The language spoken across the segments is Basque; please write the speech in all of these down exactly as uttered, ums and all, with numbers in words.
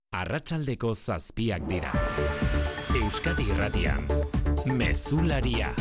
Arratsaldeko zazpiak dira. Euskadi Irratian, Mezularia.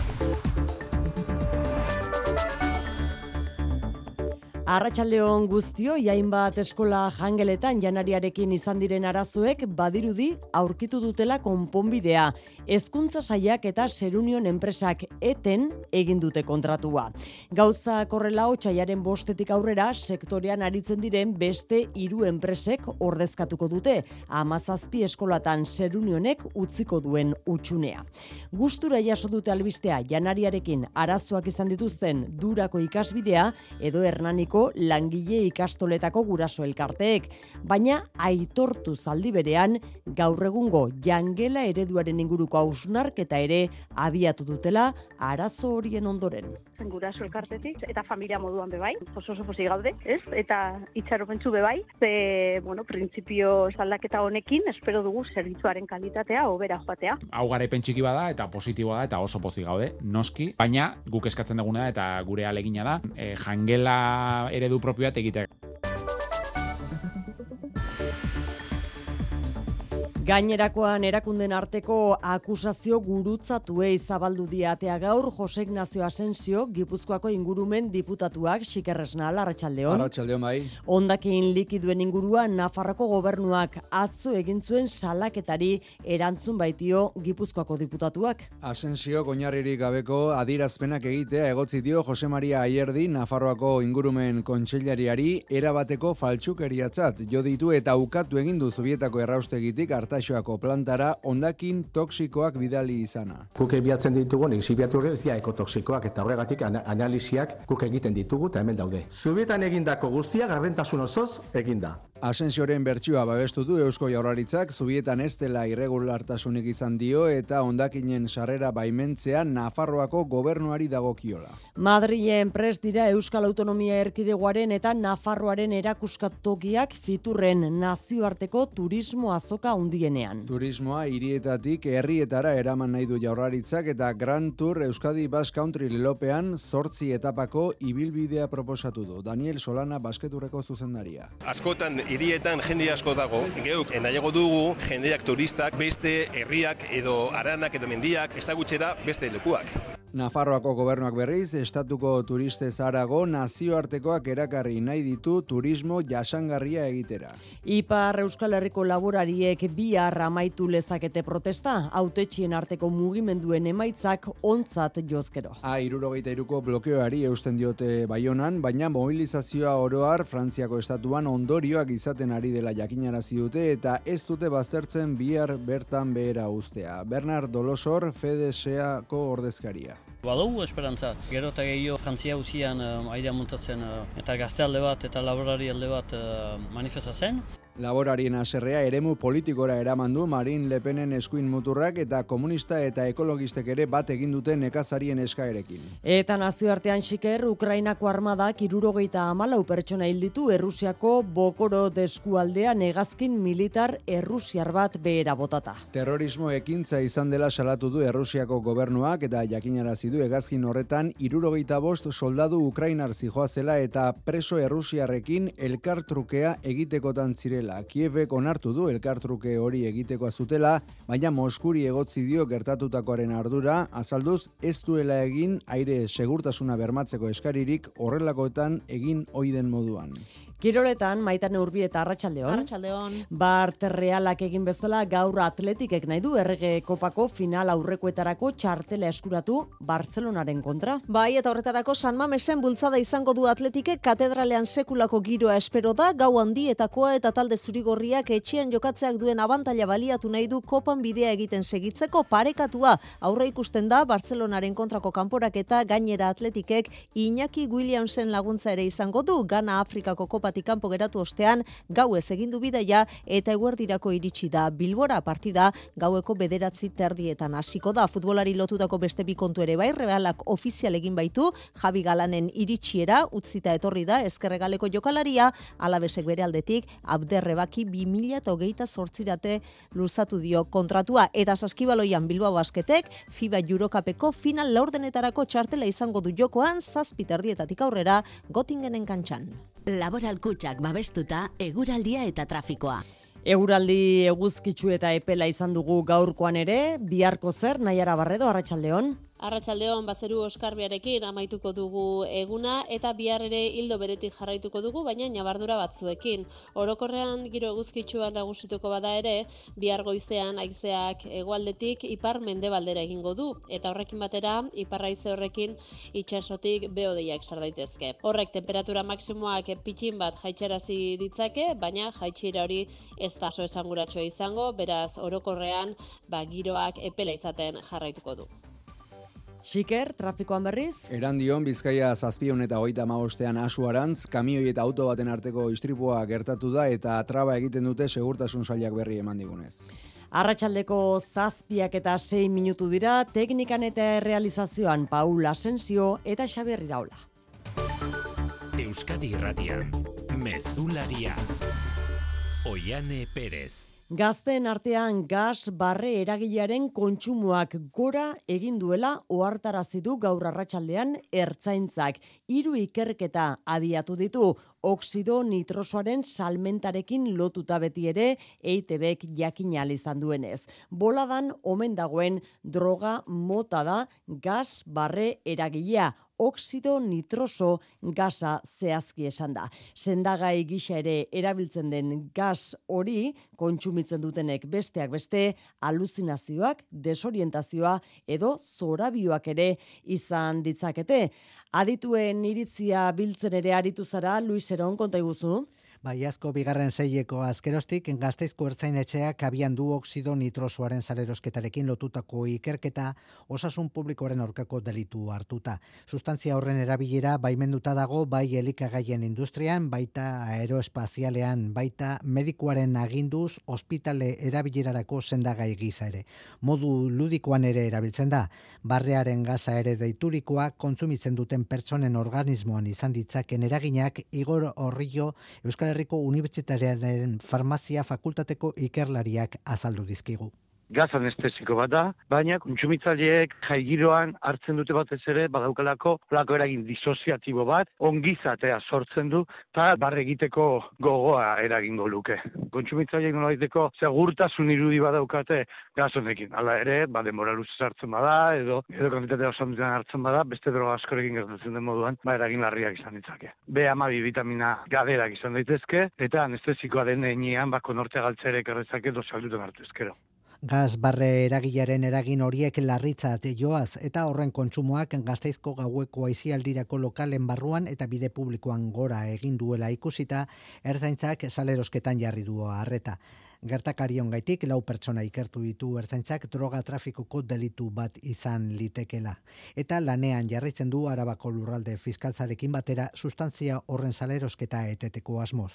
Arratsaldeon guztioi, hainbat eskola jangeletan janariarekin izan diren arazoek badirudi aurkitu dutela konponbidea. Hezkuntza sailak eta Serunion enpresak eten egin dute kontratua. Gauza korrela otsailaren bostetik aurrera sektorean aritzen diren beste hiru enpresek ordezkatuko dute. Hamazazpi eskolatan Serunionek utziko duen hutsunea. Gustura jaso dute albistea janariarekin arazoak izan dituzten Durako ikasbidea edo Hernaniko langile ikastoletako guraso elkarteek, baina aitortu zaldi berean gaur egungo jangela ereduaren inguruko hausnarketa ere abiatu dutela arazo horien ondoren. Guraso elkartetik eta familia moduan bebai, oso oso pozik gaude, ez? Eta itxaropentsu bebai, ze, bueno, printzipio aldaketa honekin espero dugu zerbitzuaren kalitatea hobera joatea. Hau garaipen txiki bada eta positiboa da eta oso pozik gaude, noski, baina guk eskatzen duguna da eta gure ahalegina da, e, jangela eredu propioa egitea. Gainerakoan erakunden arteko akusazio gurutzatuei zabaldu diatea gaur Jose Ignacio Asensio, Gipuzkoako ingurumen diputatuak. Xikerresnal, arratsaldeon. Arratsaldeon bai. Hondakin likiduen inguruan Nafarroko gobernuak atzo egin zuen salaketari erantzun baitio Gipuzkoako diputatuak. Asensio oinarririk gabeko adierazpenak egitea egotzi dio Jose Maria Ayerdi, Nafarroako ingurumen kontseilariari erabateko faltsukeriatzat jo ditu eta ukatu egin du Zubietako erraustegitik Artaxoako plantara hondakin toksikoak bidali izana. Guk bilatzen ditugu, exhibiatu ez dira ekotoksikoak eta horregatik analiziak guk egiten ditugu eta hemen daude. Zubietan egindako guztia gardentasun osoz eginda. Asensioren bertsioa babestu du Eusko Jaurlaritzak, Zubietan ez dela irregulartasunik izan dio eta hondakinen sarrera baimentzea Nafarroako gobernuari dagokiola. Madrilen prest dira Euskal Autonomia Erkidegoaren eta Nafarroaren erakuskatokiak Fiturren nazioarteko turismo azoka handienean. Turismoa hirietatik herrietara eraman nahi du Jaurlaritzak eta Grand Tour Euskadi Basque Country lelopean zortzi etapako ibilbidea proposatu du. Daniel Solana basketurreko zuzendaria. Askotan hirietan jende asko dago, geuk nahiago dugu jendeak turistak beste herriak edo aranak edo mendiak ezagutxera beste lekuak. Nafarroako gobernuak berriz, estatuko turistez harago nazioartekoak erakarri nahi ditu turismo jasangarria egitera. Ipar Euskal Herriko laborariek bihar amaitu lezakete protesta, hautetxien arteko mugimenduen emaitzak ontzat jozkero. A hirurogeita hiruko blokeoari eusten diote Baionan, baina mobilizazioa oroar Frantziako estatuan ondorioak izaten ari dela jakinarazi dute eta ez dute baztertzen bihar bertan behera ustea. Bernard Dolosor, Fedeseako ordezkaria. Badugu esperantza. Gero eta gehiago jantzia uzian uh, aidea muntatzen uh, eta gazte alde bat eta laborari alde bat uh, manifestatzen. Laborarien haserrea eremu politikora eraman du Marine Le Penen eskuin muturrak eta komunista eta ekologistek ere bat egin duten nekazarien eskaerekin. Eta nazioartean xiker, Ukrainako armadak hirurogeita hamalau pertsona hil ditu Errusiako Bokorod eskualdean hegazkin militar errusiar bat behera botata. Terrorismo ekintza izan dela salatu du Errusiako gobernuak eta jakinarazi du hegazkin horretan hirurogeita bost soldadu ukrainar zihoazela eta preso errusiarrekin elkartrukea egitekotan zirela. Kievek onartu du elkartruke hori egitekoa zutela, baina Moskuri egotzi dio gertatutakoaren ardura, azalduz ez duela egin aire segurtasuna bermatzeko eskaririk horrelakoetan egin oiden moduan. Kiroletan, Maitane Urbieta, arratsaldeon. Arratsaldeon. Bart Realak egin bezala gaur Atletikek nahi du Errege Kopako final aurrekoetarako txartela eskuratu Bartzelonaren kontra. Bai, eta horretarako San Mamesen bultzada izango du Atletikek, katedralean sekulako giroa espero da, gau handietakoa eta talde zurigorriak etxean jokatzeak duen abantaila baliatu nahi du kopan bidea egiten segitzeko parekatua. Aurre ikusten da Bartzelonaren kontrako kanporaketa, gainera Atletikek Iñaki Williamsen laguntza ere izango du, Gana Afrikako kopa kanpo geratu ostean gauez egin du bidaia eta eguerdirako iritsi da Bilbora. Partida gaueko bederatzi terdietan hasiko da. Futbolari lotutako beste bi kontu ere bai, Realak ofizial egin baitu, Javi Galanen iritsiera utzita etorri da Ezkerregaleko jokalaria, Alabesek bere aldetik Abderrebaki bi mila hogeita zortzirate luzatu dio kontratua eta saskibaloian Bilbao Basketek FIBA Eurocupeko final laurdenetarako txartela izango du jokoan zazpi terdietatik aurrera Göttingenen kantxan. Laboral Kutxak babestuta eguraldia eta trafikoa. Eguraldi eguzkitsu eta epela izan dugu gaurkoan ere, biharko zer, Naiara Barredo, arratsaldeon. Arratsaldeon bazeru oskarbiarekin amaituko dugu eguna eta bihar ere hildo beretik jarraituko dugu, baina nabardura batzuekin. Orokorrean giro eguzkitsua nagusituko bada ere, bihar goizean haizeak hegoaldetik ipar mendebaldera egingo du eta horrekin batera ipar haize horrekin itsasotik behodeiak sar daitezke. Horrek temperatura maksimoak pitxin bat jaitsarazi ditzake, baina jaitsiera hori ez da oso esanguratsua izango, beraz orokorrean ba giroak epela izaten jarraituko du. Xiker, trafikoan berriz? Erandion, Bizkaia zazpiehun eta hogeita hamabostean Asu-Arantz, kamioi eta auto baten arteko istripua gertatu da eta traba egiten dute segurtasun sailak berri eman digunez. Arratsaldeko zazpiak eta sei minutu dira, teknikan eta realizazioan Paul Asensio eta Xabier Iraola. Euskadi Irratian, Mezularia. Oiane Perez. Gazteen artean gas barre eragilearen kontsumoak gora egin duela ohartarazi du gaur arratsaldean Ertzaintzak. Hiru ikerketa abiatu ditu, oxido nitrosoaren salmentarekin lotuta beti ere E I T Bek jakin ahal izan duenez. Boladan omen dagoen droga mota da gas barre eragilea. Oxido nitroso gasa zehazki esan da. Sendagai gisa ere erabiltzen den gas hori kontsumitzen dutenek besteak beste aluzinazioak, desorientazioa edo zorabioak ere izan ditzakete. Adituen iritzia biltzen ere aritu zara, Luis Eron, konta iguzu. Baiazko bigarren seileko azkerostik, Gasteizko Ertzain-etxeak abian du oxido nitrosoaren salerosketarekin lotutako ikerketa osasun publikoaren aurkako delitu hartuta. Sustantzia horren erabilera baimenduta dago bai elikagaien industrian, baita aeroespazialean, baita medikuaren aginduz ospitale erabilerarako sendagai gisa ere. Modu ludikoan ere erabiltzen da, barrearen gaza ere deiturikoa kontsumitzen duten pertsonen organismoan izan ditzaken eraginak Igor Orrillo Euskal Herriko Unibertsitatearen Farmazia Fakultateko ikerlariak azaldu dizkigu. Gaz anestesiko bat da, baina kontsumitzaileek jaigiroan hartzen dute batez ere badaukalako olako eragin disoziatibo bat, ongizatea sortzen du eta barre egiteko gogoa eragingo luke. Kontsumitzaileek nolabaiteko segurtasun irudi badaukate gaz honekin. Hala ere, ba denbora luzez hartzen bada edo edo kantitatea oso handian hartzen bada, beste droga askorekin gertatzen den moduan, ba eragin larriak izan ditzake. B hamabi bitamina gaberak izan daitezke eta anestesikoa den heinean ba konortea galtzerek errezake dosaldutan hartu ezkero. Gas barre eragilaren eragin horiek larritzat joaz eta horren kontsumoak Gasteizko gaueko aisialdirako lokalen barruan eta bide publikoan gora egin duela ikusita, Ertzaintzak salerosketan jarri du harreta. Gertakarion gaitik lau pertsona ikertu ditu Ertzaintzak droga trafikoko delitu bat izan litekela. Eta lanean jarraitzen du Arabako lurralde fiskaltzarekin batera sustantzia horren salerosketa eteteko asmoz.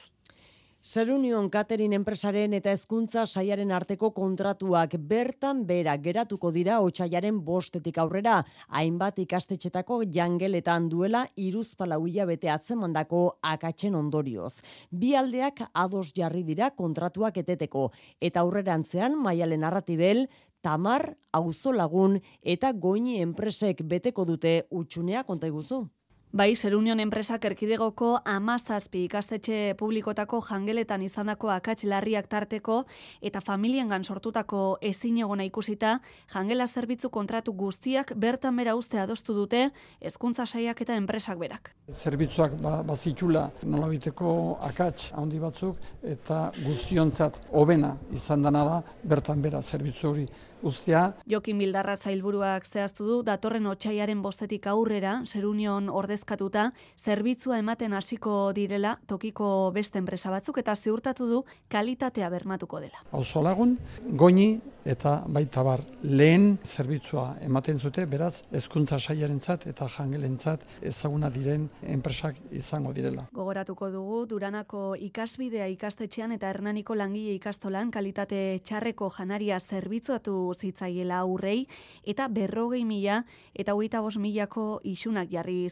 Serunion Catering enpresaren eta hezkuntza sailaren arteko kontratuak bertan bera geratuko dira otsailaren bostetik aurrera, hainbat ikastetxetako jangeletan duela hiruzpalau hilabete atzemandako akatsen ondorioz. Bi aldeak ados jarri dira kontratuak eteteko, eta aurrerantzean Maialen Arratibel, Tamar, Auzolagun eta Goini enpresek beteko dute utxunea, konta iguzu. Bai, Serunion enpresak erkidegoko hamazazpi ikastetxe publikotako jangeletan izandako akats larriak tarteko eta familiengan sortutako ezinegona ikusita, jangela zerbitzu kontratu guztiak bertan bera uzte adostu dute hezkuntza sailak eta enpresak berak. Zerbitzuak ba, bazitula nolabiteko akats handi batzuk eta guztiontzat hobena izan dana da bertan bera zerbitzu hori uztea. Jokin Bildarra sailburuak zehaztu du datorren otsailaren bostetik aurrera Serunion ordezkatuta zerbitzua ematen hasiko direla tokiko beste enpresa batzuk eta ziurtatu du kalitatea bermatuko dela. Auzolagun, Goini eta baita bar lehen zerbitzua ematen zute, beraz hezkuntza sailarentzat eta jangelentzat ezaguna diren enpresak izango direla. Gogoratuko dugu Duranako ikasbidea ikastetxean eta Hernaniko langile ikastolan kalitate txarreko janaria zerbitzuatu zitzaiela aurrei eta berrogei mila eta hogeita bost milako isunak jarri zizkiola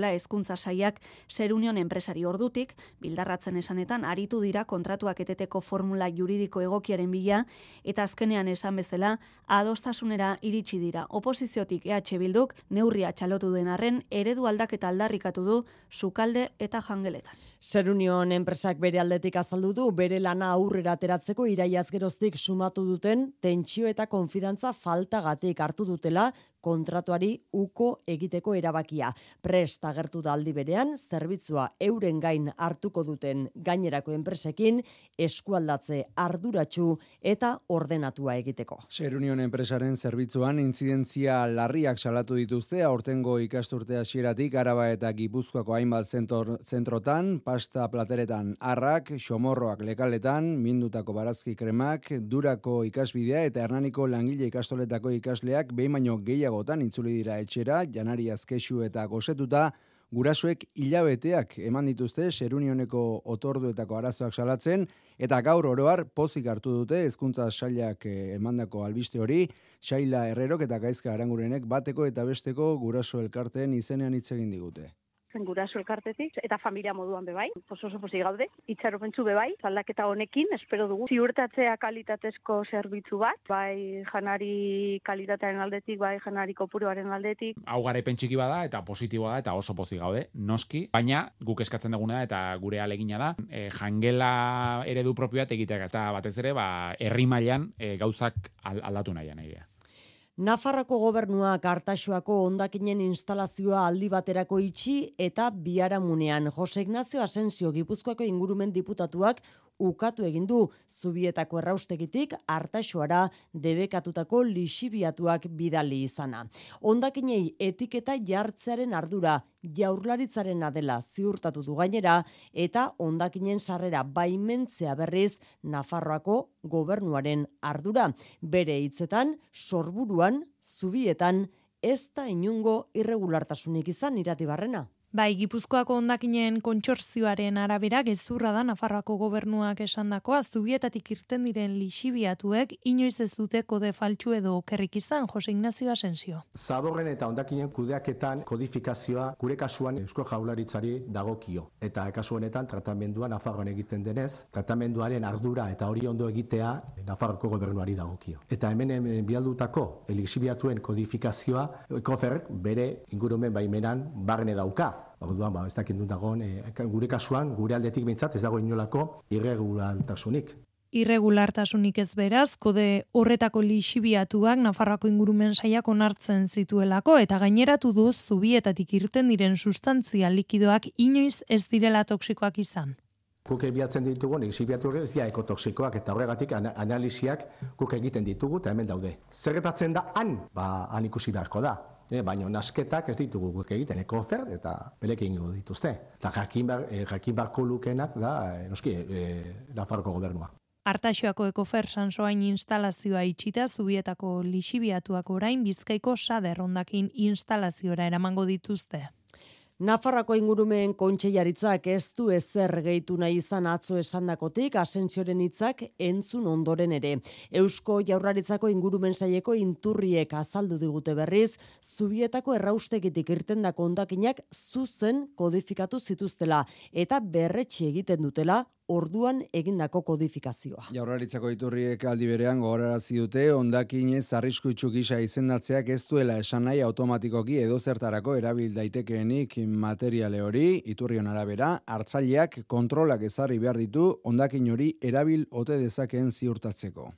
duela hezkuntza sailak Serunion enpresari ordutik, bildarratzen esanetan aritu dira kontratuak eteteko formula juridiko egokiaren bila, eta azkenean esan bezala adostasunera iritsi dira. Oposiziotik E H Bilduk neurria txalotu den arren eredu aldaketa aldarrikatu du sukalde eta jangeletan. Serunion enpresak bere aldetik azaldu du bere lana aurrera ateratzeko iraiaz geroztik sumatu duten tentsio eta konfidantza faltagatik hartu dutela kontratuari uko egiteko erabakia. Prest agertu da aldi berean, zerbitzua euren gain hartuko duten gainerako enpresekin eskualdatze arduratsu eta ordenatua egiteko. Serunion enpresaren zerbitzuan intzidentzia larriak salatu dituzte aurtengo ikasturte hasieratik Araba eta Gipuzkoako hainbat zentor, zentrotan, pasta plateretan arrak, xomorroak lekaletan, mindutako barazki kremak, durako ikasbidea eta Hernaniko langile ikastoletako ikasleak behin baino gehiagotan itzuli dira etxera, janari azkexu eta gosetuta, gurasoek hilabeteak eman dituzte Serunioneko otorduetako arazoak salatzen, eta gaur oroar pozik hartu dute hezkuntza sailak emandako albiste hori, Xaila Herrerok eta Gaizka Arangurenek bateko eta besteko guraso elkarteen izenean hitz egin digute. Guraso elkartetik eta familia moduan bebai, oso oso pozik gaude, itxaropentsu bebai, aldaketa honekin espero dugu ziurtatzea kalitatezko zerbitzu bat, bai janari kalitatearen aldetik, bai janari kopuruaren aldetik. Hau garaipen txiki bada eta positiboa da eta oso pozik gaude, noski, baina guk eskatzen duguna eta gure ahalegina da, e, jangela eredu propioa egiteak eta batez ere, ba, herri mailan e, gauzak aldatu nahian egia. Nafarroko gobernuak Artaxoako hondakinen instalazioa aldi baterako itxi eta biharamunean. Jose Ignacio Asensio Gipuzkoako ingurumen diputatuak ukatu egin du Zubietako erraustegitik Artaxoara debekatutako lixibiatuak bidali izana. Hondakinei etiketa jartzearen ardura Jaurlaritzarena dela ziurtatu du gainera eta hondakinen sarrera baimentzea berriz Nafarroako gobernuaren ardura. Bere hitzetan, sorburuan, Zubietan, ez da inungo irregulartasunik izan Iratibarrena. Bai, Gipuzkoako hondakinen kontsortzioaren arabera gezurra da Nafarroako gobernuak esandakoa, Zubietatik irten diren lixibiatuek inoiz ez dute kode faltsu edo okerrik izan, Jose Ignacio Asensio. Zaborren eta hondakinen kudeaketan kodifikazioa gure kasuan Eusko Jaurlaritzari dagokio. Eta kasu honetan tratamendua Nafarroan egiten denez, tratamenduaren ardura eta hori ondo egitea Nafarroko gobernuari dagokio. Eta hemen bialdutako lixibiatuen kodifikazioa Koferrek bere ingurumen baimenan barne dauka. Orduan, ba, ez dakit dut dagoen, e, gure kasuan, gure aldetik behintzat, ez dago inolako irregulartasunik. Irregulartasunik ez beraz, kode horretako lixibiatuak Nafarroako ingurumen sailak onartzen zituelako, eta gaineratu du Zubietatik irten diren sustantzia likidoak inoiz ez direla toksikoak izan. Guk bilatzen ditugu, lixibiatuak ez dira ekotoksikoak, eta horregatik analiziak guk egiten ditugu, eta hemen daude. Zer gertatzen da han? Ba, han ikusi beharko da. E, baina nasketak ez ditugu guk egiten, ekofer eta belekin egingo dituzte. Eta jakin, bar, e, jakin barko lukenak da, e, noski, e, Nafarroko gobernua. Artaxoako ekofer sansoain instalazioa itxita, Zubietako lixibiatuak orain Bizkaiko Sader hondakin instalaziora eramango dituzte. Nafarroako ingurumen kontseilaritzak ez du ezer gehitu nahi izan atzo esandakotik Asensioren hitzak entzun ondoren ere. Eusko Jaurlaritzako ingurumen saileko inturriek azaldu digute berriz, Zubietako erraustegitik irtendako hondakinak zuzen kodifikatu zituztela eta berretsi egiten dutela orduan egindako kodifikazioa. Jaurlaritzako iturriek aldi berean gogorarazi dute hondakinez arriskuitsu gisa izendatzeak ez duela esan nahi automatikoki edozertarako erabil daitekeenik materiale hori, iturrion arabera, hartzaileak kontrolak ezarri behar ditu hondakin hori erabil ote dezakeen ziurtatzeko.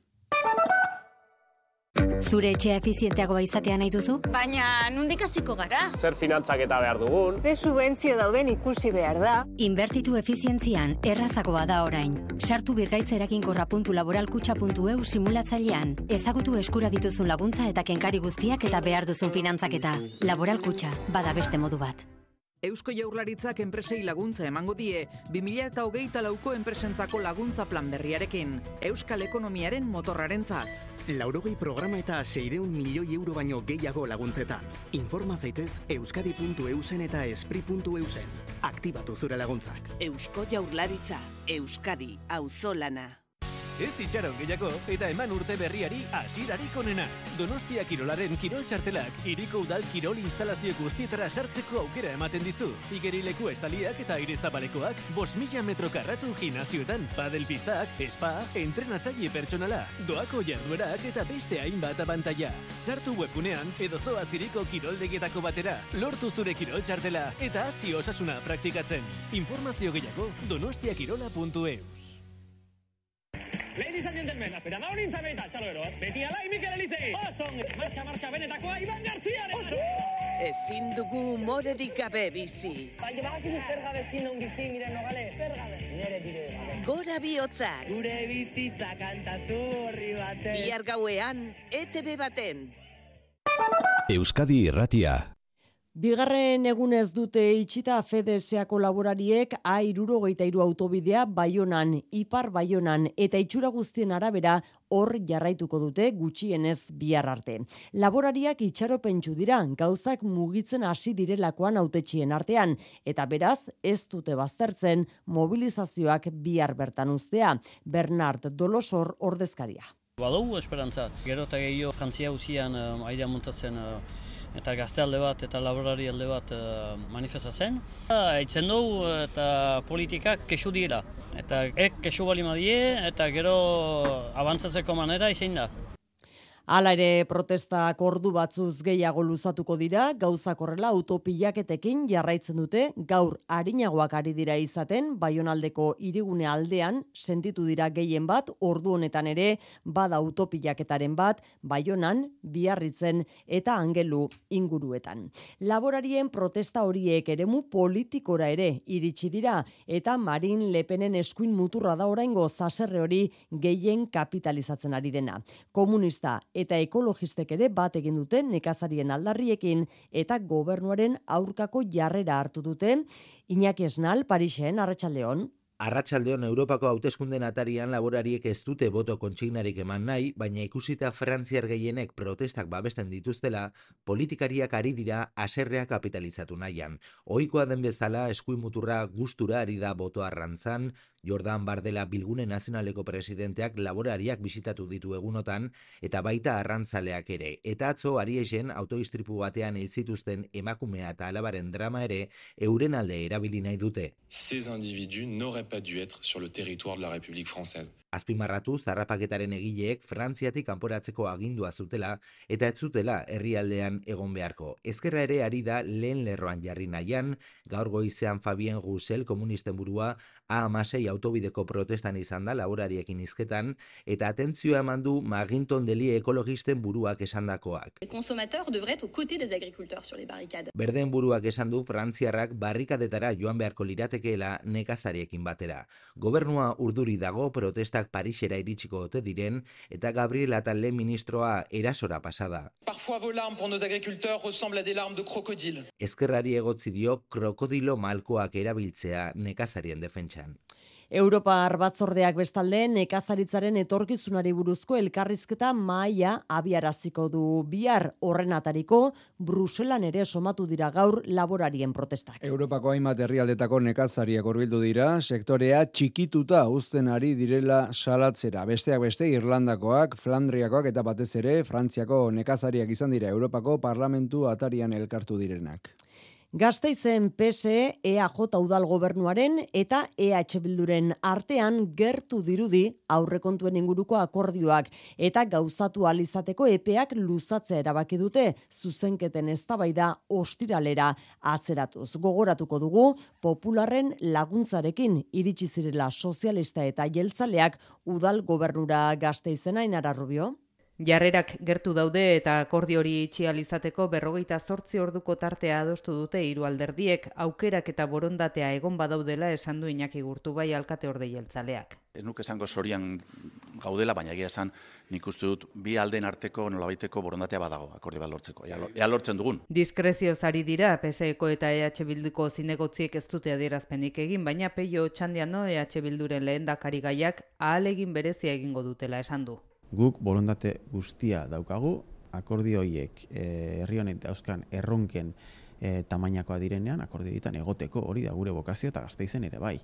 Zure etxea efizienteagoa izatea nahi duzu? Baina, nondik hasiko gara? Zer finantzak eta behar dugun? Ze subentzio dauden ikusi behar da. Inbertitu efizientzian errazagoa da orain. Sartu birgaitza eraginkorra puntu laboralkutxa puntu eu simulatzailean. Ezagutu eskura dituzun laguntza eta kenkari guztiak eta behar duzun finantzaketa. Laboralkutxa, bada beste modu bat. Eusko Jaurlaritzak enpresei laguntza emango die, bi mila hogeita lauko enpresentzako laguntza plan berriarekin, Euskal Ekonomiaren motorrarentzat. Laurogei programa eta seiehun milioi euro baino gehiago laguntzetan. Informa zaitez euskadi puntu eusen eta espri puntu eusen. Aktibatu zure laguntzak. Eusko Jaurlaritza, Euskadi, auzolana. Ez itxaron gehiago eta eman urte berriari hasierarik onena. Donostia Kirolaren kirol txartelak hiriko udal kirol instalazio guztietara sartzeko aukera ematen dizu. Igerileku estaliak eta aire zabalekoak bost mila metro karratu gimnasioetan, padelpistak, spa, entrenatzaile pertsonala, doako jarduerak eta beste hainbat abantaila. Sartu webgunean edo zoaz hiriko kiroldegietako batera, lortu zure kirol txartela eta hasi osasuna praktikatzen. Informazio gehiago donostiakirola puntu eus. Ladies and gentlemen, apera da horin zabeita, txalo eroat, beti alai Mikel Elizei. Osong, martxa, martxa, benetakoa, Iban Garziaren. Ezin dugu morerik gabe bizi. Baina bagakizu zer gabe zindun bizi, miren nogales. Zer gabe? Nere bide gabe. Gora bihotzak. Gure bizitza kantatu horri baten. Bihar gauean, E T B baten. Euskadi Irratia. Bigarren egunez dute itxita FedExeko laborariek A hirurogeita hiru autobidea Baionan, Ipar Baionan eta itxura guztien arabera hor jarraituko dute gutxienez bihar arte. Laborariak itxaropentsu dira, gauzak mugitzen hasi direlakoan hautetxien artean, eta beraz ez dute baztertzen mobilizazioak bihar bertan uztea. Bernard Dolosor ordezkaria. Badugu esperantza, gero eta gehiago jantzia uzian uh, aidea montatzen uh, eta gazte alde bat eta laborari alde bat uh, manifestatzen. Eitzen dugu eta politikak kesu dira. Eta ek kesu bali madie eta gero abantzatzeko manera izin da. Hala ere protestak ordu batzuz gehiago luzatuko dira, gauzak horrela autopilaketekin jarraitzen dute, gaur arinagoak ari dira izaten, Baionaldeko hirigune aldean, sentitu dira gehien bat, ordu honetan ere, bada autopilaketaren bat, Baionan, Biarritzen eta Angelu inguruetan. Laborarien protesta horiek eremu politikora ere iritsi dira, eta Marine Le Penen eskuin muturra da oraingo zaserre hori gehien kapitalizatzen ari dena. Komunista eta ekologistek ere bat egin dute nekazarien aldarriekin eta gobernuaren aurkako jarrera hartu dute. Iñaki Esnal, Parisen, Arratsaldeon. Arratsaldeon Europako hauteskunden atarian laborariek ez dute boto kontsignarik eman nahi, baina ikusita frantziar gehienek protestak babesten dituztela, politikariak ari dira haserrea kapitalizatu nahian. Ohikoa den bezala eskuin muturra gustura ari da boto arrantzan, Jordan Bardella Bilgune Nazionaleko presidenteak laborariak bisitatu ditu egunotan, eta baita arrantzaleak ere. Eta atzo Ariesen autoistripu batean hil zituzten emakumea eta alabaren drama ere euren alde erabili nahi dute. Ces individus n'auraient pas dû être sur le territoire de la République française. Azpimarratu zarrapaketaren egileek Frantziatik kanporatzeko agindua zutela eta ez zutela herrialdean egon beharko. Ezkerra ere ari da lehen lerroan jarri nahian, gaur goizean Fabien Roussel komunisten burua A hamasei autobideko protestan izan da laborariekin hizketan eta atentzioa eman du Maginton Deli ekologisten buruak esandakoak. Les consommateurs devraient être aux côtés des agriculteurs sur les barricades. Berden buruak esan du frantziarrak barrikadetara joan beharko liratekeela nekazariekin batera. Gobernua urduri dago protesta Parisera iritsiko ote diren eta Gabriel Attal lehen ministroa erasora pasada. Parfois vos larmes pour nos agriculteurs ressemblent à des larmes de crocodile. Ezkerrari egotzi dio krokodilo malkoak erabiltzea nekazarien defentsan. Europar batzordeak bestalde nekazaritzaren etorkizunari buruzko elkarrizketa mahaia abiaraziko du bihar horren atariko Bruselan ere somatu dira gaur laborarien protestak. Europako hainbat herrialdetako nekazariak hurbildu dira, sektorea txikituta uzten ari direla salatzera. Besteak beste Irlandakoak, Flandriakoak eta batez ere Frantziako nekazariak izan dira Europako Parlamentu atarian elkartu direnak. Gasteizen P S E, E A J udal gobernuaren eta E H Bilduren artean gertu dirudi aurrekontuen inguruko akordioak eta gauzatu ahal izateko epeak luzatzea erabaki dute zuzenketen eztabaida ostiralera atzeratuz. Gogoratuko dugu Popularren laguntzarekin iritsi zirela sozialista eta jeltzaleak udal gobernura Gasteizen. Ainara Rubio. Jarrerak gertu daude eta akordio hori itxial izateko berrogeita zortzi orduko tartea adostu dute hiru alderdiek, aukerak eta borondatea egon badaudela esan du Iñaki Gurtubai alkate orde jeltzaleak. Ez nuke esango sorian gaudela, baina egia esan nik uste dut bi alden arteko nolabaiteko borondatea badago akordio bat lortzeko. Ea lortzen dugun. Diskrezioz ari dira P S Eko eta E H Bilduko zinegotziek ez dute adierazpenik egin, baina Peio Otxandiano E H Bilduren lehendakari gaiak ahalegin berezia egingo dutela esan du. Guk borondate guztia daukagu, akordio horiek herri eh, honek dauzkan erronken eh, tamainakoa direnean, akordio ditan egoteko hori da gure bokazio eta Gasteizen ere bai.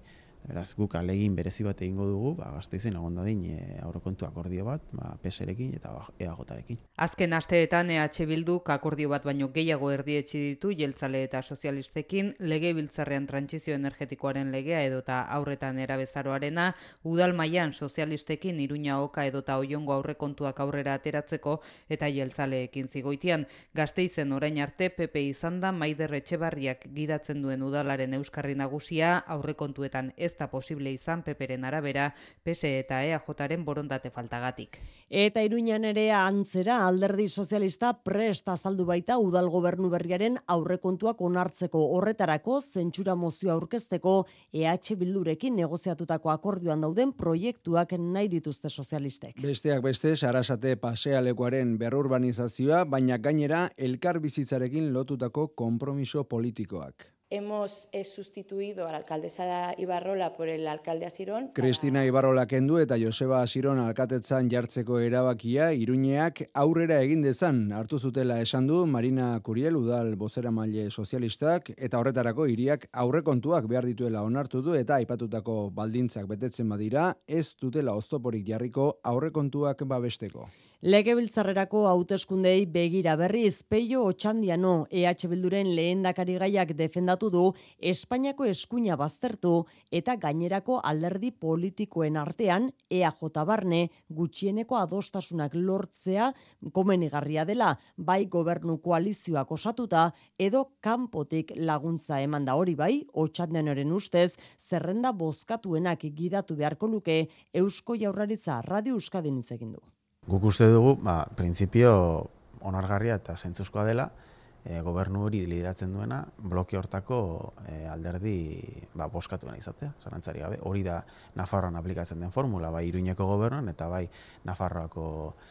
Beraz, guk alegin berezi bat egingo dugu, ba, Gasteizen egon dadin e, aurrekontu akordio bat, ba, P S rekin eta E A J-rekin. Azken asteetan E H Bilduk akordio bat baino gehiago erdietsi ditu jeltzale eta sozialistekin, legebiltzarrean trantsizio energetikoaren legea edota aurretan erabezaroarena, udal mailan sozialistekin Iruña Oka edota Oiongo aurrekontuak aurrera ateratzeko eta jeltzaleekin zigoitian. Gasteizen orain arte P P izan da Maider Etxebarriak gidatzen duen udalaren euskarri nagusia, aurrekontuetan ez da posible izan Peperen arabera, P S eta E A Jaren borondate faltagatik. Eta Iruñan ere antzera alderdi sozialista prest azaldu baita udal gobernu berriaren aurrekontuak onartzeko, horretarako zentsura mozioa aurkezteko E H Bildurekin negoziatutako akordioan dauden proiektuak nahi dituzte sozialistek. Besteak beste, Sarasate pasealekuaren berrurbanizazioa, baina gainera elkar bizitzarekin lotutako konpromiso politikoak. Hemos eh, sustituido a la alcaldesa Ibarrola por el alcalde Asirón. Cristina Ibarrola kendu eta Joseba Asirón alkatetzan jartzeko erabakia Iruñeak aurrera egin dezan hartu zutela esan du Marina Curiel udal bozeramaile sozialistak, eta horretarako hiriak aurrekontuak behar dituela onartu du eta aipatutako baldintzak betetzen badira ez dutela oztoporik jarriko aurrekontuak babesteko. Legebiltzarrerako hauteskundei begira berriz, Peio Otxandiano E H Bilduren lehendakari gaiak defendatu du Espainiako eskuina baztertu eta gainerako alderdi politikoen artean E A J barne gutxieneko adostasunak lortzea komenigarria dela, bai gobernu koalizioak osatuta edo kanpotik laguntza eman da. Hori bai, Otxandianoren ustez, zerrenda bozkatuenak gidatu beharko luke Eusko Jaurlaritza Radio Euskadin hitz egin du. Guk uste dugu, ba, printzipio onargarria eta zentzuzkoa dela, e, gobernu hori lideratzen duena, bloke hortako e, alderdi ba, boskatuena izatea, zarantzari gabe. Hori da Nafarroan aplikatzen den formula, bai Iruñeko gobernuan eta bai Nafarroako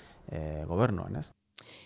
e, gobernuan, ez?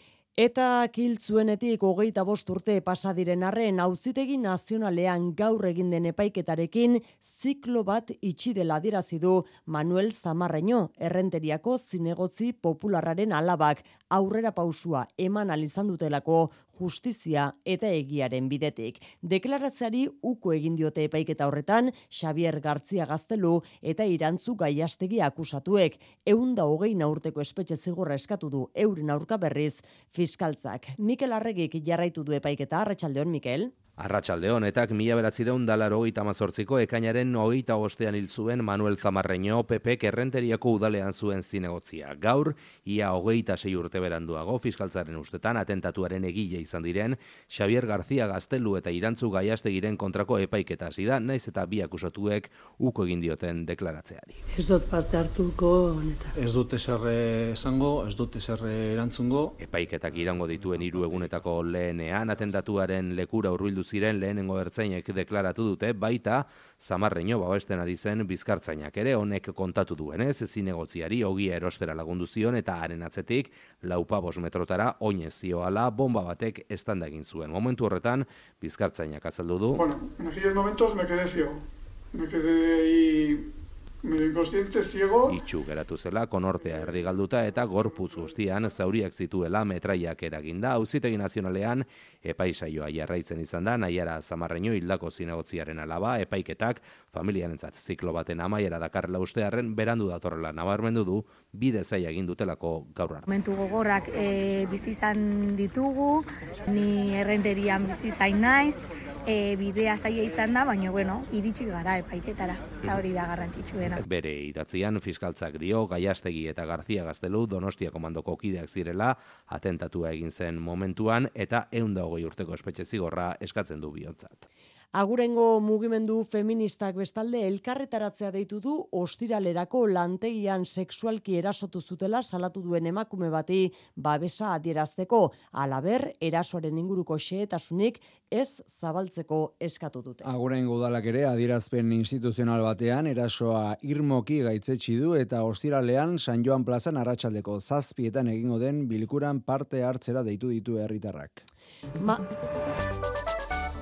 Eta kiltzuenetik hogeita bost urte pasadiren arren auzitegi nazionalean gaur egin den epaiketarekin ziklo bat itxi dela adierazi du Manuel Zamarreño, Errenteriako zinegotzi popularraren alabak, aurrera pausua eman alizan dutelako justizia eta egiaren bidetik. Deklaratzeari uko egin diote epaiketa horretan Xavier Gartzia Gaztelu eta Irantzu Gaiastegi akusatuek, ehun eta hogei urteko espetxe zigorra eskatu du euren aurka berriz fiskaltzak. Mikel Arregik jarraitu du epaiketa. Arratsaldeon, Mikel. Arratsaldeon, etak mila bederatziehun eta laurogeita hemezortziko ekainaren hogeita bostean hil zuen Manuel Zamarreño P Pek Errenteriako udalean zuen zinegotzia. Gaur, ia hogeita sei urte beranduago, fiskaltzaren ustetan atentatuaren egile izan diren, Xavier García Gaztelu eta Irantzu Gaiastegiren kontrako epaiketa hasi da, naiz eta bi akusatuek uko egin dioten deklaratzeari. Ez dut parte hartuko honetan. Ez dut ezer esango, ez dut ezer erantzungo. Epaiketak irango dituen hiru egunetako lehenean, atentatuaren lekura hurbildu ziren lehenengo ertzainek deklaratu dute, baita Zamarreño babesten ari zen bizkartzainak ere, honek kontatu duenez, zinegotziari ogia erostera lagundu zion eta haren atzetik laupabos metrotara oinez zioala bomba batek estanda egin zuen. Momentu horretan, bizkartzainak azaldu du. Bueno, en aquellos momentos me quedé ciego. Me quedé ahí medio inconsciente, ciego. Itxu geratu zela, konortea erdi galduta eta gorputz guztian zauriak zituela metraiak eraginda. Auzitegi nazionalean epaisaioa jarraitzen izan da, Naiara Zamarreño hildako zinegotziaren alaba, epaiketak familiarentzat ziklo baten amaiera dakarrela ustearren berandu datorrela nabarmendu du, bide zaila egin dutelako gaur arte. Momentu gogorrak e, bizi izan ditugu, ni errenterian bizi zain naiz, E, bidea zaila izan da, baina bueno, iritsi gara epaiketara, eta hori da garrantzitsuena. Bere idatzian fiskaltzak dio, Gaiastegi eta García Gaztelu Donostia komandoko kideak zirela, atentatua egin zen momentuan, eta ehun eta hogei urteko espetxe zigorra eskatzen du bihontzat. Agurengo mugimendu feministak bestalde elkarretaratzea deitu du ostiralerako lantegian sexualki erasotu zutela salatu duen emakume bati babesa adierazteko, halaber erasoaren inguruko xehetasunik ez zabaltzeko eskatu dute. Agurengo udalak ere adierazpen instituzional batean erasoa irmoki gaitzetsi du eta ostiralean San Joan plazan arratsaldeko zazpietan egingo den bilkuran parte hartzera deitu ditu herritarrak. Ma...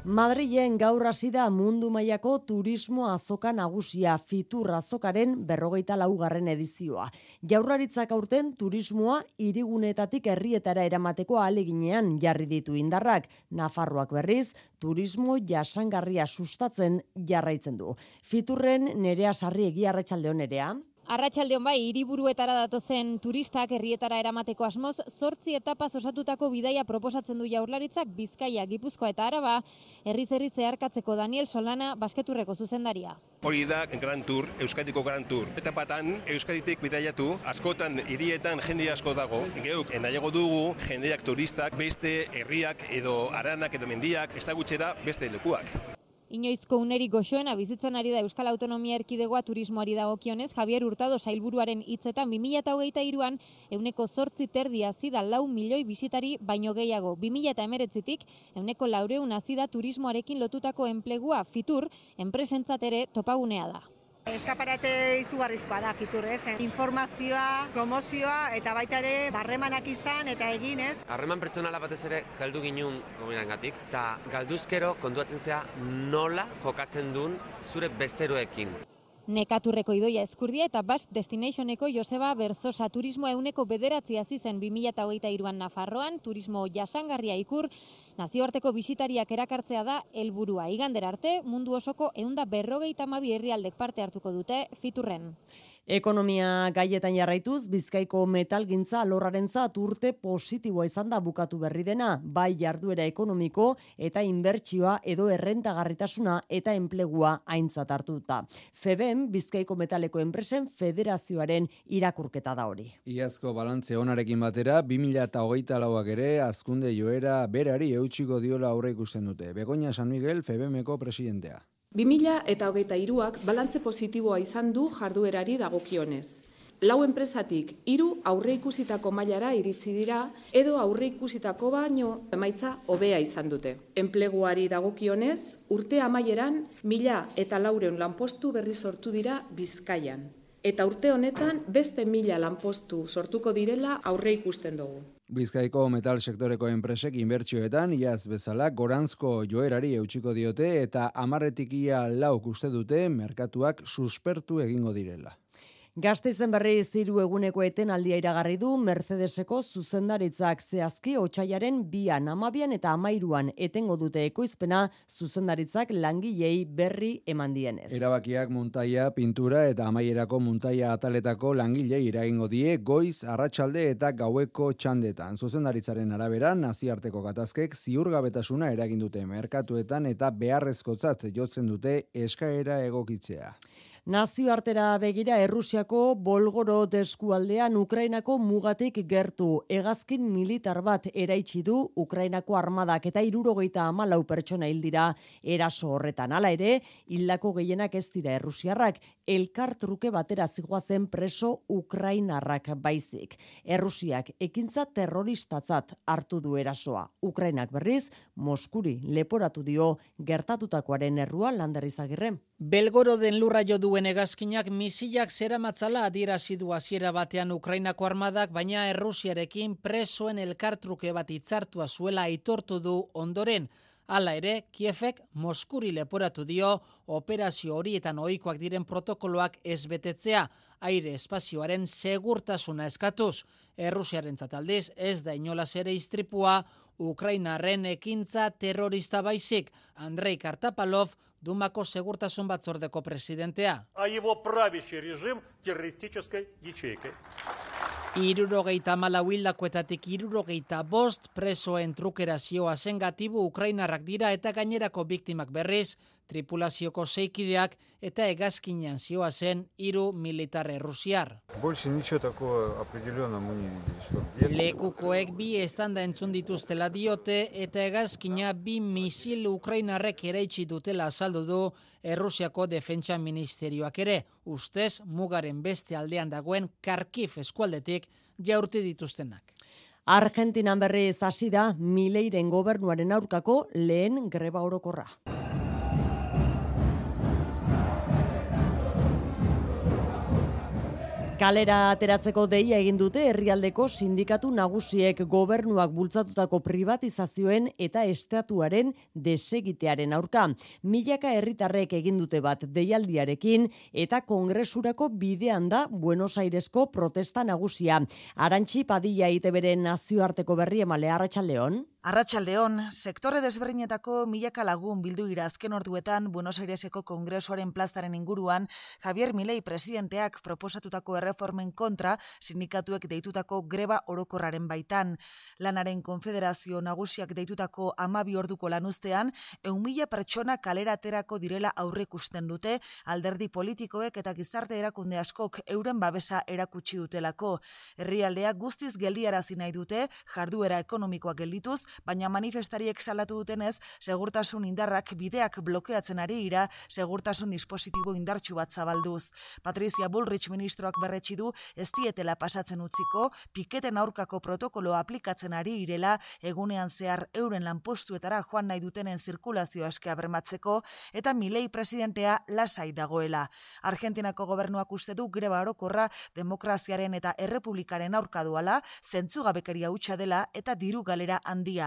Madrilen gaur hasi da mundu mailako turismo azoka nagusia, Fitur azokaren berrogeita laugarren edizioa. Jaurlaritzak aurten turismoa hirigunetatik herrietara eramateko ahaleginean jarri ditu indarrak. Nafarroak berriz, turismo jasangarria sustatzen jarraitzen du. Fiturren Nerea Sarriegi, arratsalde on Nerea. Arratsaldeon bai, hiriburuetara datozen turistak herrietara eramateko asmoz, zortzi etapaz osatutako bidaia proposatzen du Jaurlaritzak Bizkaia, Gipuzkoa eta Araba, herriz herri zeharkatzeko. Daniel Solana, Basketurreko zuzendaria. Hori da Gran Tour, Euskadiko Gran Tour. Etapatan Euskaditik bidaiatu, askotan hirietan jende asko dago. Geuk nahiago dugu jendeak turistak beste herriak edo haranak edo mendiak ezagutxera beste lekuak. Inoizko unerik goxoena bizitzen ari da Euskal Autonomia Erkidegoa turismoari dagokionez, Javier Hurtado sailburuaren hitzetan bi mila hogeita hiruan ehuneko zortzi terdi hazi da lau milioi bisitari baino gehiago. bi mila hemeretzitik ehuneko laurehun hazi da turismoarekin lotutako enplegua. Fitur enpresentzat ere topagunea da. Eskaparate izugarrizkoa da Fitur, ez? Informazioa, promozioa eta baita ere barremanak izan eta eginez. Harreman pertsonala batez ere galdu ginun gomirangatik, eta galduzkero kontuatzen zea nola jokatzen duen zure bezeroekin. Nekaturreko Idoia Ezkurdia eta Basque Destinationeko Joseba Berzosa turismoa ehuneko bederatzi hazi zen bi mila hogeita hiruan Nafarroan, turismo jasangarria ikur, nazioarteko bisitariak erakartzea da helburua. Igandera arte, mundu osoko ehun eta berrogeita hamabi herrialdek parte hartuko dute Fiturren. Ekonomia gaietan jarraituz, Bizkaiko metalgintza alorrarentzat urte positiboa izan da bukatu berri dena, bai jarduera ekonomiko eta inbertsioa edo errentagarritasuna eta enplegua aintzat hartuta. Feben, Bizkaiko metaleko enpresen federazioaren irakurketa da hori. Iazko balantze onarekin batera, bi mila hogeita lauak ere azkunde joera berari eutxiko diola aurre ikusten dute. Begoña San Miguel, Febemeko presidentea. bi mila hogeita hiruak balantze positiboa izan du jarduerari dagokionez. Lau enpresatik hiru aurre ikusitako mailara iritsi dira edo aurre ikusitako baino emaitza hobea izan dute. Enpleguari dagokionez, urte amaieran mila eta laureun lanpostu berri sortu dira Bizkaian. Eta urte honetan beste mila lanpostu sortuko direla aurre ikusten dugu. Bizkaiko metal sektoreko enpresek inbertsioetan iaz bezala goranzko joerari eutxiko diote eta hamarretik ia lauk uste dute merkatuak suspertu egingo direla. Gasteizen berriz hiru eguneko etenaldia iragarri du Mercedeseko zuzendaritzak, zehazki otsaiaren bian, hamabian eta hamairuan etengo dute ekoizpena zuzendaritzak langilei berri eman dienez. Erabakiak muntaia, pintura eta amaierako muntaia ataletako langilei eragingo die goiz, arratsalde eta gaueko txandetan. Zuzendaritzaren arabera, nazioarteko gatazkek ziurgabetasuna eragin dute merkatuetan eta beharrezkotzat jotzen dute eskaera egokitzea. Nazioartera begira Errusiako Bolgorod eskualdean Ukrainako mugatik gertu hegazkin militar bat eraitsi du Ukrainako armadak eta hirurogeita hamalau pertsona hil dira eraso horretan. Hala ere, hildako gehienak ez dira errusiarrak, elkar truke batera zigoazen preso ukrainarrak baizik. Errusiak ekintza terroristatzat hartu du erasoa. Ukrainak berriz, Moskuri leporatu dio gertatutakoaren errua. Lander Izagirre. Belgoroden lurra jo duen hegazkinak misilak zeramatzala adierazi du hasiera batean Ukrainako armadak, baina Errusiarekin presoen elkartruke bat hitzartua zuela aitortu du ondoren. Hala ere, Kievek Moskuri leporatu dio operazio horietan ohikoak diren protokoloak ez betetzea, aire espazioaren segurtasuna eskatuz. Errusiarentzat aldiz ez da inolaz ere istripua Ukrainarren ekintza terrorista baizik. Andrei Kartapalov, Dumako segurtasun batzordeko presidentea. Hirurogeita hamalau hildakoetatik hirurogeita bost presoen trukera zioa zen gatibu ukrainarrak dira eta gainerako biktimak berriz, tripulazioko zeikideak eta hegazkinean zioa zen hiru militar errusiar. Lekukoek bi estanda entzun dituztela diote eta hegazkina bi misil ukrainarrek eraitsi dutela azaldu du Errusiako defentsa ministerioak ere, ustez mugaren beste aldean dagoen Kharkiv eskualdetik jaurti dituztenak. Argentinan berriz hasi da Mileiren gobernuaren aurkako lehen greba orokorra. Kalera ateratzeko deia egin dute herrialdeko sindikatu nagusiek gobernuak bultzatutako privatizazioen eta estatuaren desegitearen aurka. Milaka herritarrek egin dute bat deialdiarekin eta kongresurako bidean da Buenos Airesko protesta nagusia. Arantxi Padilla I T Bren nazioarteko berri emale, arratsaldeon. Arratsaldeon, sektore desberdinetako milaka lagun bildu dira azken orduetan Buenos Aireseko kongresuaren plazaren inguruan Javier Milei presidenteak proposatutako erreformen kontra sindikatuek deitutako greba orokorraren baitan. Lanaren konfederazio nagusiak deitutako hamabi orduko lanuztean, ehun mila pertsona kalera aterako direla aurreikusten dute alderdi politikoek eta gizarte erakunde askok euren babesa erakutsi dutelako. Herrialdea guztiz geldiarazi nahi dute, jarduera ekonomikoa geldituz, baina manifestariek salatu dutenez, segurtasun indarrak bideak blokeatzen ari dira, segurtasun dispositibo indartsu bat zabalduz. Patricia Bullrich ministroak berretsi du ez dietela pasatzen utziko, piketen aurkako protokoloa aplikatzen ari direla, egunean zehar euren lanpostuetara joan nahi dutenen zirkulazio askea bermatzeko, eta Milei presidentea lasai dagoela. Argentinako gobernuak uste du greba orokorra demokraziaren eta errepublikaren aurka duala, zentzugabekeria hutsa dela eta diru galera handia.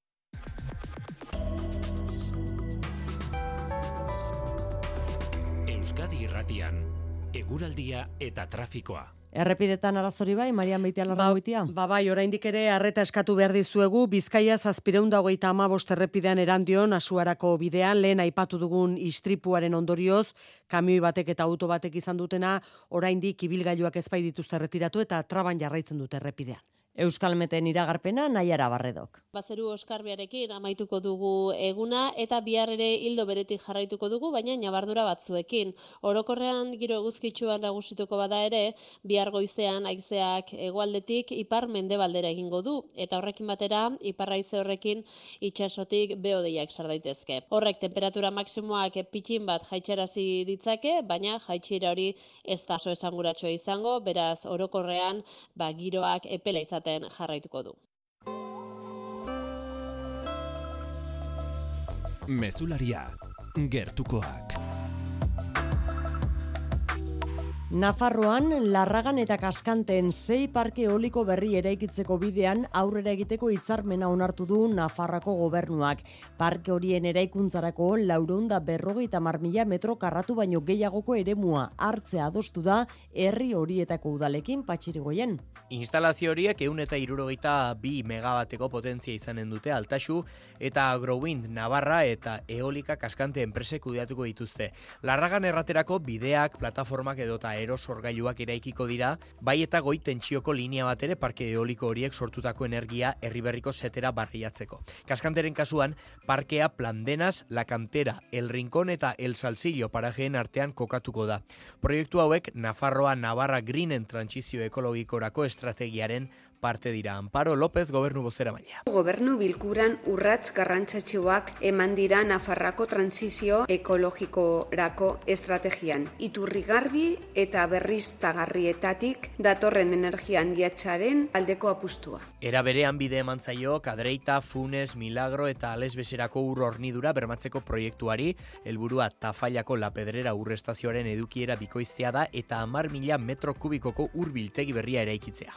Euskadi Irratian, eguraldia eta trafikoa. Errepidetan arazori bai, Marian Beitialarrangoitia? Ba, ba bai, oraindik ere arreta eskatu behar dizuegu, Bizkaia zazpiehun eta hogeita hamabost errepidean Erandion, Asuarako bidean, lehen aipatu dugun istripuaren ondorioz, kamioi batek eta auto batek izan dutena, oraindik ibilgailuak ezpai dituzte erretiratu eta traban jarraitzen dute errepidean. Euskalmeten iragarpena Naiara Barredok. Bazeru oskarbiarekin amaituko dugu eguna eta bihar ere hildo beretik jarraituko dugu, baina nabardura batzuekin. Orokorrean giro eguzkitsuan nagusituko bada ere, bihar goizean haizeak hegoaldetik ipar mendebaldera egingo du, eta horrekin batera ipar haize horrekin itsasotik behodeiak sar daitezke. Horrek temperatura maksimoak pitxin bat jaitsarazi ditzake, baina jaitsiera hori ez da oso esanguratsua izango, beraz orokorrean ba giroak epela izaten jarraituko du. Mezularia, gertukoak. Nafarroan, Larragan eta Kaskanten sei parke eoliko berri eraikitzeko bidean aurrera egiteko hitzarmena onartu du Nafarroako gobernuak. Parke horien eraikuntzarako laurehun eta berrogeita hamar mila metro karratu baino gehiagoko eremua hartzea adostu da herri horietako udalekin. Patxirigoien. Instalazio horiek ehun eta hirurogeita bi megabateko potentzia izanen dute Altaxu eta Agrowind Navarra eta Eolika Kaskante enpresek kudeatuko dituzte. Larragan erraterako bideak, plataformak edota erosorgailuak eraikiko dira, bai eta goi tentsioko linea bat ere parke eoliko horiek sortutako energia herriberriko setera barriatzeko. Kaskanteren kasuan, parkea Plandenas, La Cantera, El Rincón eta El Salsillo parajeen artean kokatuko da. Proiektu hauek Nafarroa Navarra Greenen trantsizio ekologikorako estrategiaren parte dira. Amparo López, gobernu bozeramailea. Gobernu bilkuran urrats garrantzatsuak eman dira Nafarrako trantsizio ekologikorako estrategian. Iturri garbi eta berriztagarrietatik datorren energia handiatzaren aldeko apustua. Era berean bide eman zaio Kadreita, Funes, Milagro eta Alesbeserako ur hornidura bermatzeko proiektuari, helburua Tafallako La Pedrera urrestazioaren edukiera bikoiztea da eta hamar mila metro kubikoko ur biltegi berria eraikitzea.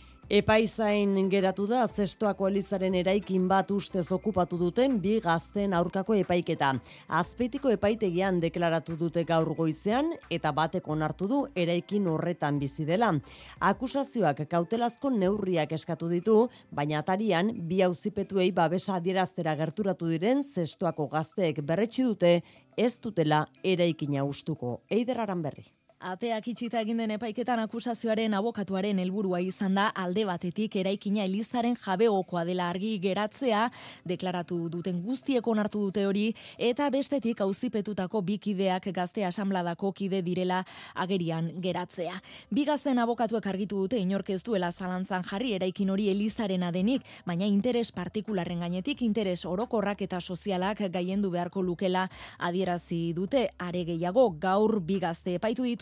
Epaizain geratu da Zestoako Elizaren eraikin bat ustez okupatu duten bi gazten aurkako epaiketa. Azpeitiko epaitegian deklaratu dute gaur goizean eta batek onartu du eraikin horretan bizi dela. Akusazioak kautelazko neurriak eskatu ditu, baina atarian bi auzipetuei babesa adieraztera gerturatu diren Zestoako gazteek berretsi dute ez dutela eraikina hustuko. Eider Aranberri. Ateak itxita egin den epaiketan akusazioaren abokatuaren helburua izan da alde batetik eraikina Elizaren jabegokoa dela argi geratzea, deklaratu duten guztiek onartu dute hori, eta bestetik auzipetutako bi kideak gazte asanbladako kide direla agerian geratzea. Bi gazten abokatuek argitu dute inork ez duela zalantzan jarri eraikin hori Elizarena denik, baina interes partikularren gainetik interes orokorrak eta sozialak gaiendu beharko lukela adierazi dute. Are gehiago, gaur bi gazte epaitu dituzte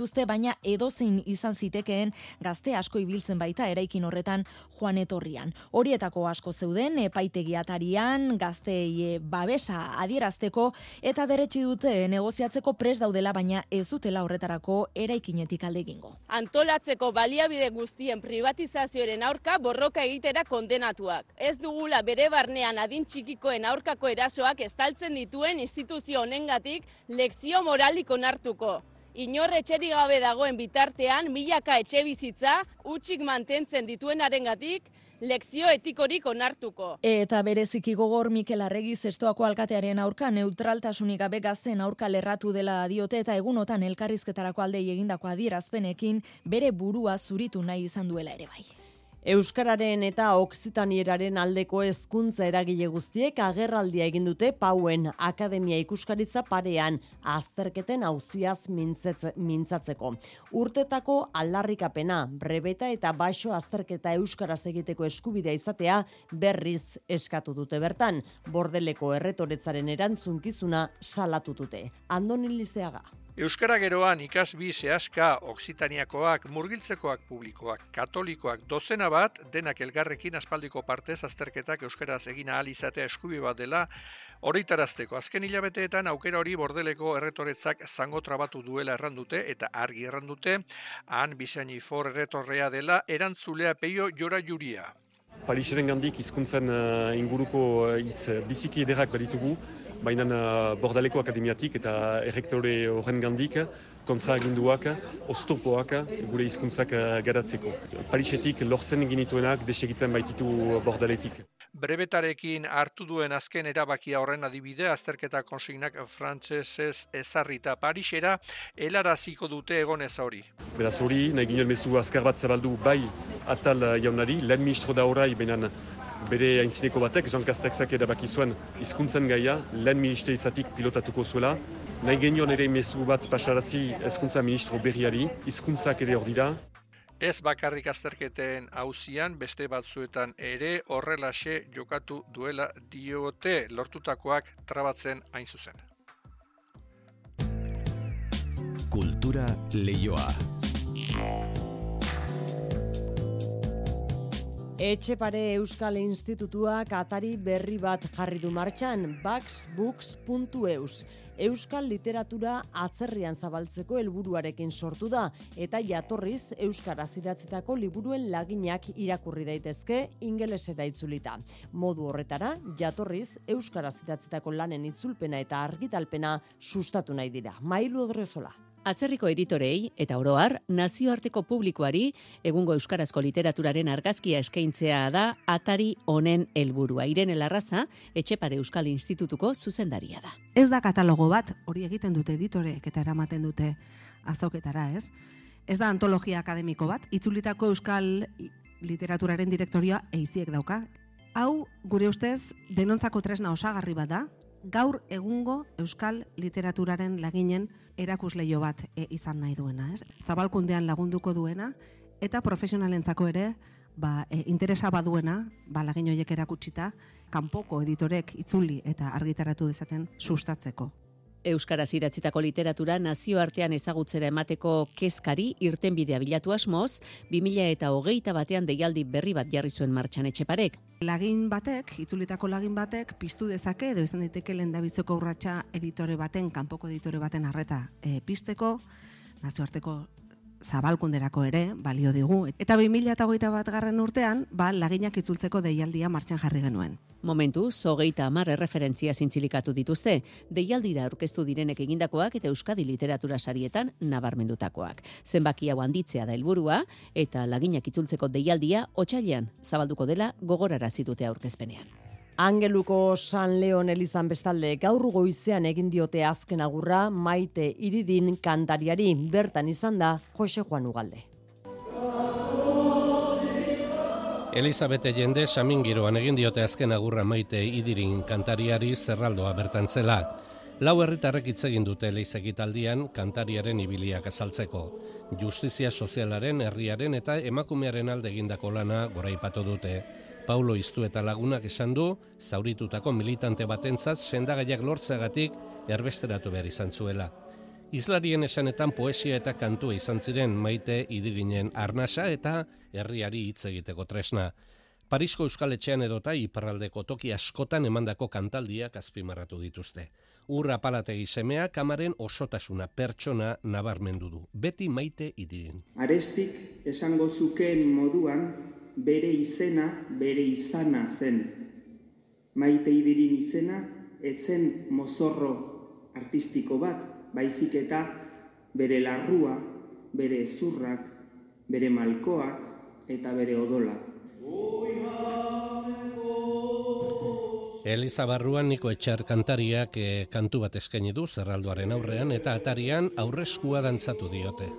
dituzte, baina edozein izan zitekeen gazte asko ibiltzen baita eraikin horretan joan etorrian. Horietako asko zeuden epaitegiatarian, gaztei babesa adierazteko eta berretsi dute negoziatzeko prest daudela, baina ez dutela horretarako eraikinetik alde egingo. Antolatzeko baliabide guztien privatizazioaren aurka borroka egitera kondenatuak. Ez dugula bere barnean adin txikikoen aurkako erasoak estaltzen dituen instituzio honengatik lekzio moralik onartuko. Inor etxerik gabe dagoen bitartean milaka etxe bizitza hutsik mantentzen dituenarengatik lekzio etikorik onartuko. Eta bereziki gogor Mikel Arregi Zestoako alkatearen aurka neutraltasunik gabe gazten aurka lerratu dela diote eta egunotan elkarrizketarako aldei egindako adierazpenekin bere burua zuritu nahi izan duela ere bai. Euskararen eta Oksitanieraren aldeko hezkuntza eragile guztiek agerraldia egin dute Pauen Akademia Ikuskaritza parean azterketen auziaz mintzatzeko. Urtetako aldarrikapena, brebeta eta baixo azterketa euskaraz egiteko eskubidea izatea berriz eskatu dute bertan. Bordeleko erretoretzaren erantzunkizuna salatu dute. Andoni Lizeaga. Euskara geroan ikasbi zehaska Oksitaniakoak, murgiltzekoak publikoak, katolikoak dozena bat, denak elgarrekin aspaldiko partez azterketak euskaraz egin ahal izatea eskubi bat dela horitarazteko. Azken hilabeteetan aukera hori Bordeleko erretoretzak zango trabatu duela errandute eta argi errandute, han Bisaini For erretorrea dela erantzulea Peio Jora Juria. Pariseren gandik hizkuntzen uh, inguruko hitz uh, biziki ederrak baditugu, baina uh, Bordaleko Akademiatik eta errektore horren gandik kontraginduak, oztopoak gure hizkuntzak uh, garatzeko. Parisetik lortzen genituenak desegiten baititu Bordaletik. Brebetarekin hartu duen azken erabakia horren adibide, azterketa konsignak frantsesez ezarrita Parisera helaraziko dute egonez hori. Beraz hori, nahi ginen mezu azkar bat zabaldu bai atal jaunari, lehen ministro da orai, benen bere aintzineko batek, Jean Castexak erabaki zuen hizkuntzen gaia, lehen ministeritzatik pilotatuko zuela. Nahi genion ere mezu bat pasarazi hezkuntza ministro berriari, hizkuntzak ere hor dira. Ez bakarrik azterketen auzian, beste batzuetan ere horrelaxe jokatu duela diote lortutakoak trabatzen hain zuzen. Kultura leioa. Etxepare Euskal Institutuak atari berri bat jarri du martxan, baxbooks puntu eus. Euskal literatura atzerrian zabaltzeko helburuarekin sortu da, eta jatorriz euskaraz idatzitako liburuen laginak irakurri daitezke ingelesera itzulita. Modu horretara, jatorriz euskaraz idatzitako lanen itzulpena eta argitalpena sustatu nahi dira. Mailu Odrezola. Atzerriko editorei eta oroar nazioarteko publikoari egungo euskarazko literaturaren argazkia eskaintzea da atari honen helburua. Irene Larraza, Etxepare Euskal Institutuko zuzendaria da. Ez da katalogo bat, hori egiten dute editoreek eta eramaten dute azoketara, ez? Ez da antologia akademiko bat, itzulitako euskal literaturaren direktorioa eiziek dauka. Hau, gure ustez, denontzako tresna osagarri bat da, gaur egungo euskal literaturaren laginen erakusleio bat e, izan nahi duena, ez? Zabalkundean lagunduko duena eta profesionalentzako ere, ba, e, interesa baduena, ba, lagin horiek erakutsita, kanpoko editorek itzuli eta argitaratu dezaten sustatzeko. Euskaraz idatzitako literatura nazioartean ezagutzera emateko kezkari irtenbidea bilatu asmoz, bi mila hogeita batean deialdi berri bat jarri zuen martxan Etxeparek. Lagin batek, itzulitako lagin batek, piztu dezake edo izan daiteke lehendabiziko urratsa editore baten, kanpoko editore baten arreta e, pizteko, nazioarteko zabalkunderako ere, balio digu. Eta bi mila hogeita bat garren urtean, ba, laginak itzultzeko deialdia martxan jarri genuen. Momentuz, hogeita hamar erreferentzia zintzilikatu dituzte, deialdira aurkeztu direnek egindakoak eta Euskadi literatura sarietan nabarmendutakoak. Zenbaki hau handitzea da helburua eta laginak itzultzeko deialdia otsailean zabalduko dela gogorarazi dute aurkezpenean. Angeluko San Leon elizan bestalde gaur goizean egin diote azken agurra Maite Iridin kantariari, bertan izan da Jose Juan Ugalde. Elizabete jende samingiroan egin diote azken agurra Maite Idirin kantariari zerraldoa bertan zela. Lau herritarrek hitz egin dute leizekitaldian kantariaren ibiliak azaltzeko. Justizia sozialaren, herriaren eta emakumearen alde egindako lana goraipatu dute. Paulo Iztu eta lagunak esan du, zauritutako militante batentzat sendagaiak lortzeagatik erbesteratu behar izan zuela. Izlarien esanetan poesia eta kantua izan ziren Maite Idirinen arnasa eta herriari hitz egiteko tresna. Parisko Euskaletxean edota iparraldeko toki askotan emandako kantaldiak azpimarratu dituzte. Ur Apalategi semea kamaren osotasuna pertsona nabarmendu du. Beti Maite Idirin. Arestik esango zukeen moduan bere izena, bere izana zen. Maite Idirin izena etzen mozorro artistiko bat, baizik eta bere larrua, bere ezurrak, bere malkoak eta bere odola. Eliza barruan Niko Etxar kantariak eh, kantu bat eskaini du zerraldoaren aurrean eta atarian aurreskua dantzatu diote.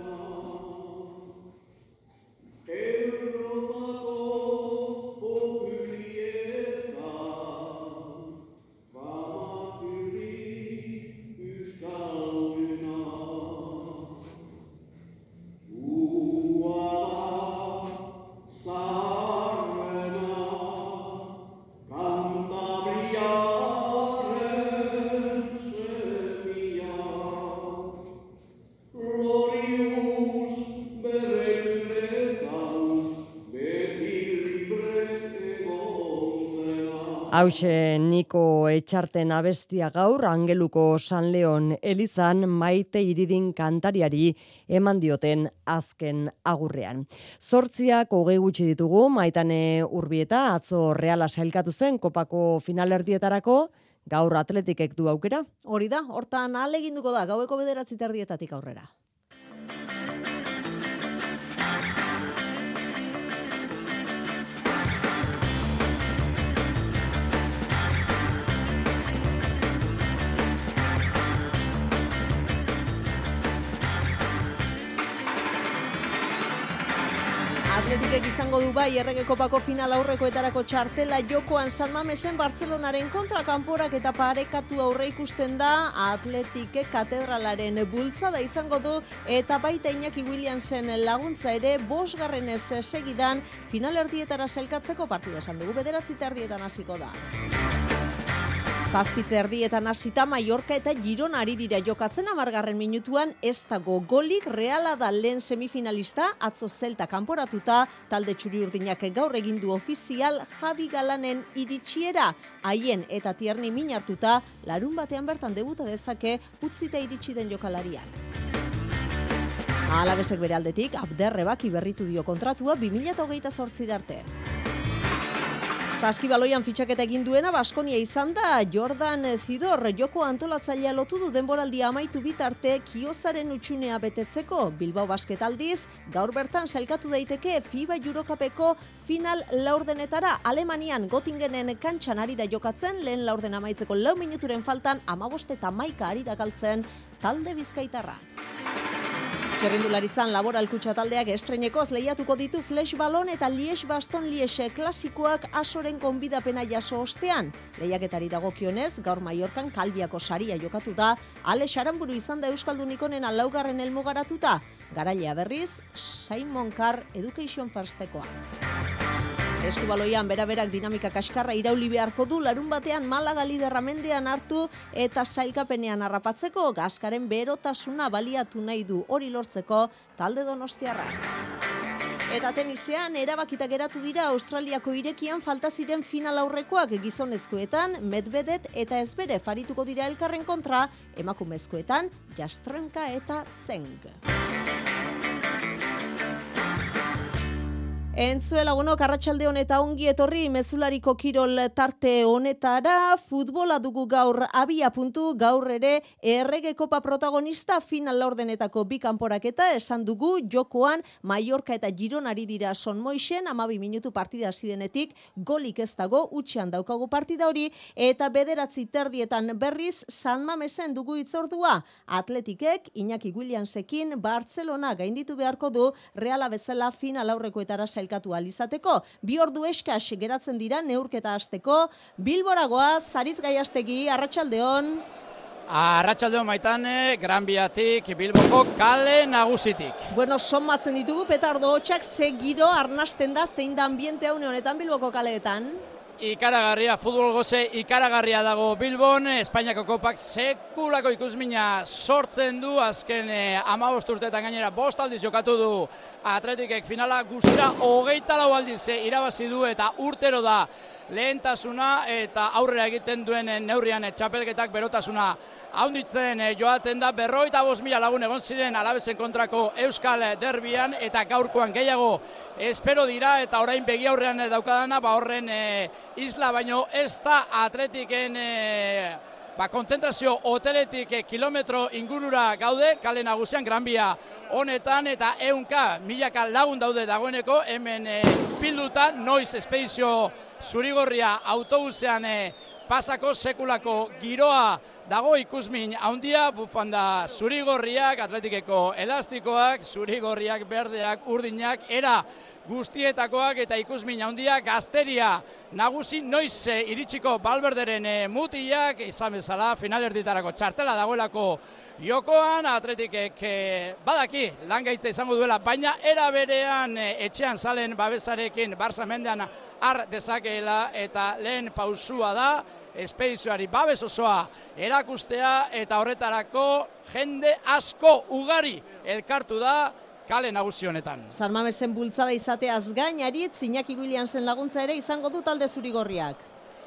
Hauxe Niko Etxarten abestia gaur Angeluko San Leon elizan Maite Iridin kantariari eman dioten azken agurrean. Zortziak hogei gutxi ditugu, Maitane Urbieta atzo Reala sailkatu zen kopako finalerdietarako, gaur Atletikek du aukera. Hori da, hortan ahaleginduko da gaueko bederatzi terdietatik aurrera. Atletikek izango du bai Errege Kopako final aurrekoetarako txartela jokoan San Mamesen Bartzelonaren kontra kanporak eta parekatu aurre ikusten da. Atletikek katedralaren bultzada izango du eta baita Iñaki Williamsen laguntza ere bosgarrenez segidan finalerdietara sailkatzeko partida esan dugu bederatzi terdietan hasiko da. Zazpi terdietan hasita Mallorca eta Girona ari dira jokatzen hamargarren minutuan ez dago golik. Reala da lehen semifinalista, atzo Zelta kanporatuta, talde txuri-urdinak gaur egin du ofizial Javi Galanen iritsiera. Haien eta Tierni min hartuta, larun batean bertan debuta dezake utzita iritsi den jokalariak. Alabesek bere aldetik, Abderrebak iberritu dio kontratua bi mila hogeita zortzi arte. Saskibaloian fitxaketa egin duena Baskonia izan da. Jordan Zidor joko antolatzailea lotu du denboraldia amaitu bitarte Kiozaren utxunea betetzeko. Bilbao Basket aldiz, gaur bertan sailkatu daiteke FIBA Eurocupeko final laurdenetara. Alemanian Göttingenen kantxan ari da jokatzen, lehen laurden amaitzeko lau minuturen faltan amabost eta hamaika ari da galtzen talde bizkaitarra. Txerrindularitzan Laboral Kutxa taldeak estreinekoz lehiatuko ditu Flash Ballon eta Lies Baston Liese klasikoak asoren konbidapena jaso ostean. Lehiaketari dagokionez, gaur Mallorcan Kalbiako saria jokatu da, Ale Xaramburu izan da Euskaldun ikonena laugarren helmugaratuta. Garailea berriz, Simon Carr Education Firstekoa. Eskubaloian beraberak dinamika kaskarra irauli beharko du larun batean Malaga liderra mendean hartu eta sailkapenean harrapatzeko gaskaren berotasuna baliatu nahi du hori lortzeko talde donostiarra. Eta tenisean erabakita geratu dira Australiako irekian falta ziren final aurrekoak gizonezkoetan Medvedev eta Zverev farituko dira elkarren kontra, emakumezkoetan Jastrenka eta Zeng. Entzuela gonok, arratsalde honeta ongi etorri mezulariko kirol tarte honetara, futbola dugu gaur abia puntu, gaur ere Errege Kopa protagonista final laurdenetako bi kanporaketa esan dugu jokoan Mallorca eta Girona ari dira Son Moixen, hamabi minutu partida hasi denetik, golik ez dago, utxean daukagu partida hori, eta bederatzi terdietan berriz San Mamesen dugu itzordua. Atletikek, Iñaki Williamsekin, Bartzelona gainditu beharko du, Reala bezala final aurrekoetara sailkatu alizateko. Bi ordu eskas geratzen dira neurketa hasteko. Bilboragoa, Zaritz Gaiastegi, arratsaldeon. Arratsaldeon Maitane, Gran Biatik, Bilboko kale nagusitik. Bueno, somatzen ditugu petardo hotxak, ze giro arnasten da zein da ambiente une honetan Bilboko kaleetan. ikaragarria, futbol goze ikaragarria dago Bilbon, Espainiako kopak sekulako ikusmina sortzen du, azken eh, hamabost urteetan gainera bost aldiz jokatu du Atletikek finala, guztira hogeita lau aldiz eh, irabazi du eta urtero da lehentasuna eta aurrera egiten duen neurrian txapelketak berotasuna haunditzen joaten da. Berrogeita bost mila lagun egon ziren Alabesen kontrako Euskal Derbian eta gaurkoan gehiago espero dira eta orain begi aurrean daukadana ba horren e, isla baino ez da Atletiken e, ba, kontzentrazio hoteletik e, kilometro ingurura gaude, kale nagusian Gran Via honetan eta ehunka milaka lagun daude dagoeneko hemen e, bilduta, noiz espedizio zurigorria autobusean e, pasako sekulako giroa dago ikusmin handia, bufanda zurigorriak, Atletikeko elastikoak, zurigorriak, berdeak, urdinak, era guztietakoak eta ikusmin handia, gazteria nagusi noiz e, iritsiko Balberderen e, mutiak, izan bezala finalerditarako txartela dagoelako jokoan, Atletikek e, badaki langaitza izango duela, baina era berean e, etxean salen babesarekin Barça mendean har dezakeela eta lehen pausua da, espedizioari babes osoa erakustea eta horretarako jende asko ugari elkartu da kale nagusi honetan. San Mamesen bultzada izateaz gain, Aritz, Iñaki Williamsen laguntza ere izango du talde zurigorriak.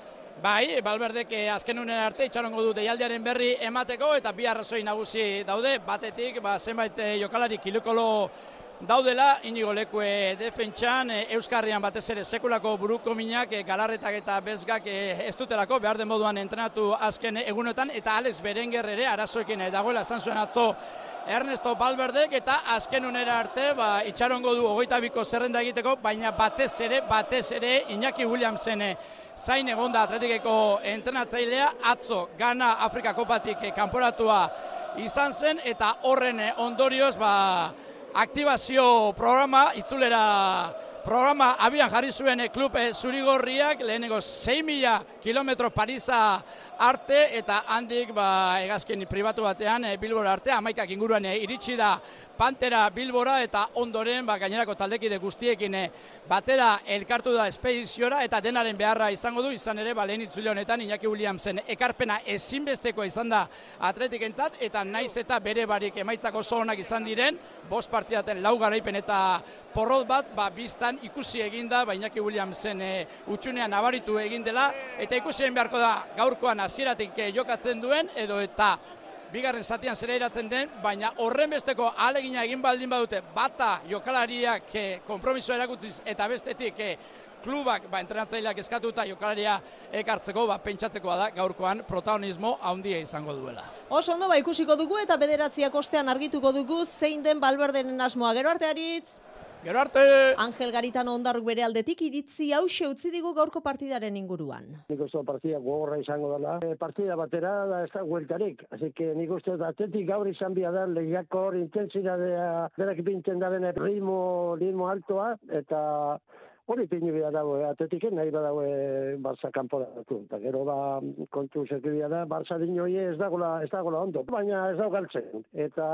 Bai, Balberdek azken unen arte itxarongo du deialdiaren berri emateko eta bi arrazoi nagusi daude, batetik ba, zenbait jokalari kilokolo daudela, Inigo Lekue defentsan, Euskarrian batez ere sekulako buruko minak, galarretak eta bezgak ez dutelako, behar den moduan entrenatu azken egunotan, eta Alex Berenguer ere arazoekin dagoela esan zuen atzo Ernesto Balberdek, eta azken unera arte ba, itxarongo du hogeita biko zerrenda egiteko, baina batez ere, batez ere Iñaki Williamsen zain egonda Atletikeko entrenatzailea, atzo Gana Afrika Kopatik kanporatua izan zen, eta horren ondorioz, ba, aktibazio programa, itzulera programa abian jarri zuen klub zurigorriak, lehenengo sei mila kilometro Parisa arte, eta handik ba, hegazkin pribatu batean Bilbora arte, hamaikak inguruan iritsi da Pantera Bilbora, eta ondoren ba, gainerako taldekide guztiekin batera elkartu da espediziora, eta denaren beharra izango du, izan ere, ba, lehen itzule honetan Iñaki Williamsen ekarpena ezinbestekoa izan da Atletikentzat, eta naiz eta bere barik emaitzako oso onak izan diren, bost partidaten lau garaipen eta porrot bat, ba, biztan ikusi eginda, ba, Iñaki Williamsen e, utxunean nabaritu egin dela, eta ikusi egin beharko da gaurkoan hasieratik e, jokatzen duen, edo eta bigarren zatian zera iratzen den, baina horren besteko ahalegina egin baldin badute, bata jokalariak e, konpromisoa erakutziz, eta bestetik e, klubak ba, entrenatzaileak eskatuta jokalaria ekartzeko, ba, pentsatzekoa da gaurkoan protagonismo handia izango duela. Oso ondo, ba, ikusiko dugu eta bederatziak ostean argituko dugu zein den Balberderen asmoa. Gero arte, Aritz! Gero arte! Angel Garitano Ondarruk bere aldetik iritzi hause utzi digu gaurko partidaren inguruan. Nik uste partida gogorra izango dela. E, partida batera da ez da hueltarik. Así que nik uste Atletik gaur izan bia da lehiakor intensidadea berak pinten da bene ritmo, ritmo altoa eta hori pinu bia dago, Atletiken nahi badago Barça kanporatu. Eta gero ba kontu zekibia da, Barça dinoi ez dagoela, ez dagoela ondo. Baina ez dago galtzen. Eta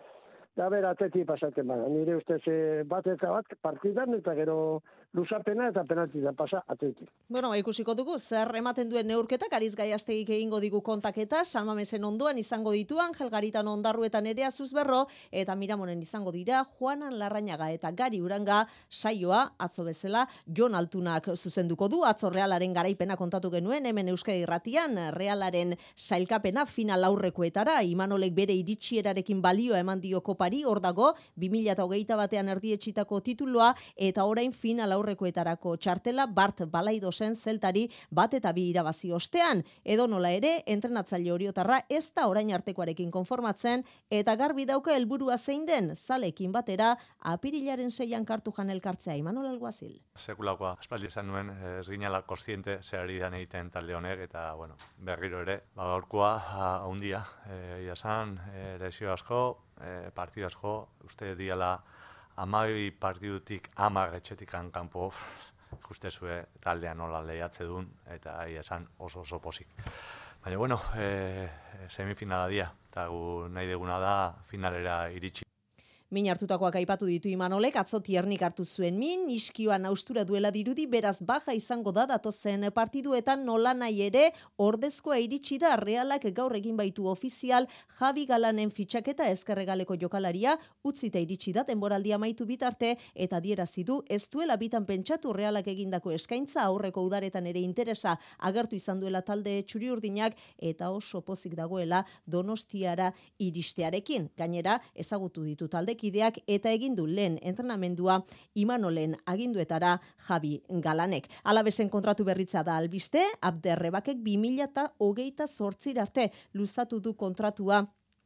da ber Atleti pasatzen bada. Nire ustez bat eta bat partidan eta gero luzapena eta penaltita pasa Atleti. Bueno, ba, ikusiko dugu, zer ematen duen neurketak, Ariz Gaiastegik egingo digu kontaketa, San Mamesen ondoan izango ditu Angel Garitano Ondarruetan ere Azuzberro, eta Miramonen izango dira Juanan Larrañaga eta Gari Uranga saioa, atzo bezala, Jon Altunak zuzenduko du, atzo Realaren garaipena kontatu genuen, hemen Euskadi Irratian, Realaren sailkapena final aurrekoetara, Imanolek bere iritsierarekin balioa eman dio kopari, hor dago, bi mila hogeita batean erdietsitako tituloa, eta orain final aurrekoetarako txartela Bart Balaidosen zeltari bat eta bi irabazi ostean. Edo nola ere, entrenatzaile oriotarra ez da orain artekoarekin konformatzen eta garbi dauka helburua zein den, zalekin batera apirilaren seian kartu jan elkartzea. Imanol Alguazil. Sekulakoa aspaldi esan nuen, ez ginala kontziente zehari dan egiten talde honek eta bueno, berriro ere, ba, gaurkoa handia, e, jasan, e, lesio asko, e, partidu asko, uste diala amabi partidutik amar etxetik kanpo justezue taldean nola lehiatze duen, eta esan oso oso pozik. Baina, bueno, e, semifinala dia, eta gu nahi deguna da finalera iritsi. Min hartutakoak aipatu ditu Imanolek, atzo tiernik hartu zuen min, iskioan austura duela dirudi, beraz baja izango da datozen partiduetan nola nahi ere ordezkoa iritsi da. Realak gaur egin baitu ofizial Javi Galanen fitxaketa, ezkerregaleko jokalaria utzita iritsi da denboraldia amaitu bitarte eta adierazi du ez duela bitan pentsatu Realak egindako eskaintza, aurreko udaretan ere interesa agertu izan duela talde txuri-urdinak eta oso pozik dagoela Donostiara iristearekin. Gainera, ezagutu ditu taldekideak eta egin du lehen entrenamendua Imanolen aginduetara Javi Galanek. Alabezen kontratu berritza da albiste, Abderrebakek bi mila hogeita zortzira arte luzatu du kontratua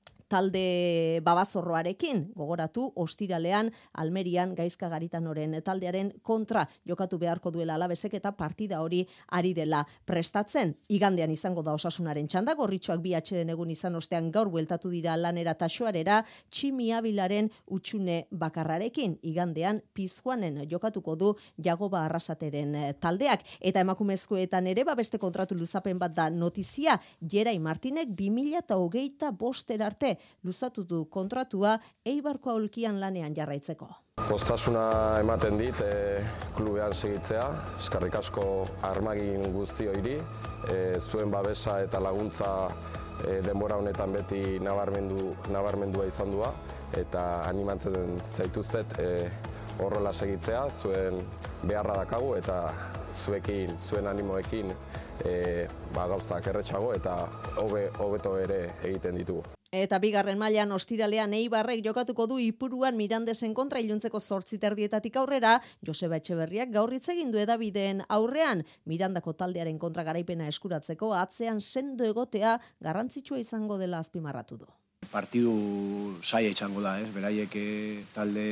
talde babazorroarekin, gogoratu ostiralean Almerian Gaizka Garitanoren taldearen kontra jokatu beharko duela Alabesek eta partida hori ari dela prestatzen. Igandean izango da Osasunaren txanda, gorritxoak bi atxeden egun izan ostean gaur bueltatu dira lanera taxoarera, Tximi Abilaren utxune bakarrarekin. Igandean Pizjuanen jokatuko du Jagoba Arrasateren taldeak. Eta emakumezkoetan ere babeste kontratu luzapen bat da notizia, Jerai Martinek bi mila hogeita boster arte luzatu du kontratua Eibarko Aulkian lanean jarraitzeko. Poztasuna ematen dit e, klubean segitzea, eskarrik asko armagin guztioiri, e, zuen babesa eta laguntza e, denbora honetan beti nabarmendu, nabarmendua izan dua, eta animatzen zaituztet e, horrela segitzea, zuen beharra dakagu eta zuekin, zuen animoekin e, ba, gauzak erretxago eta hobe, hobeto ere egiten ditugu. Eta bigarren mailan ostiralean Eibarrek jokatuko du Ipuruan Mirandesen kontra iluntzeko zortzi terdietatik aurrera, Joseba Etxeberriak gaur hitz egin du hedabideen aurrean, Mirandako taldearen kontra garaipena eskuratzeko atzean sendo egotea garrantzitsua izango dela azpimarratu du. Partidu zaila izango da, ez? Beraiek talde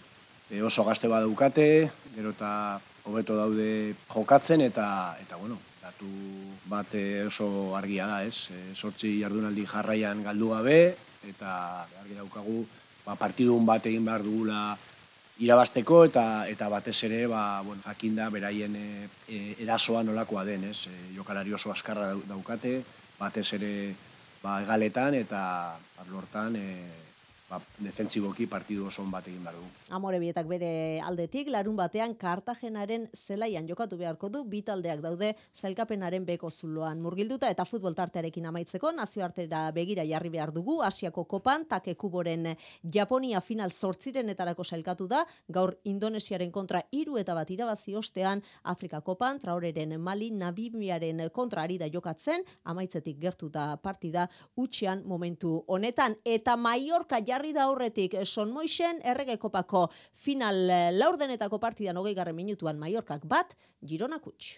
oso gazte badaukate, gero eta hobeto daude jokatzen eta eta bueno, datu bat oso argia da, ez? Zortzi jardunaldi jarraian galdu gabe, eta argi daukagu ba, partidun bat egin behar dugula irabazteko, eta eta batez ere, ba, bueno, jakinda beraien e, e, erasoa nolakoa den, ez? E, jokalari oso askarra daukate, batez ere ba, egaletan eta lortan e, ba, defentsiboki partidu oso bat egin behar du. Amorebietak bere aldetik, larun batean Kartagenaren zelaian jokatu beharko du, bi taldeak daude sailkapenaren beko zuloan murgilduta eta futbol tartearekin amaitzeko nazioartera begira jarri behar dugu, Asiako kopan, Take Kuboren Japonia final zortzirenetarako sailkatu da, gaur Indonesiaren kontra hiru eta bat irabazi ostean, Afrika kopan, Traoreren Mali, Namibiaren kontra ari da jokatzen, amaitzetik gertu da partida, utxean momentu honetan, eta Mallorca jarri da aurretik Son Moixen errege kopako final laurdenetako partidan hogei garren minutuan Mallorcak bat, Gironak huts.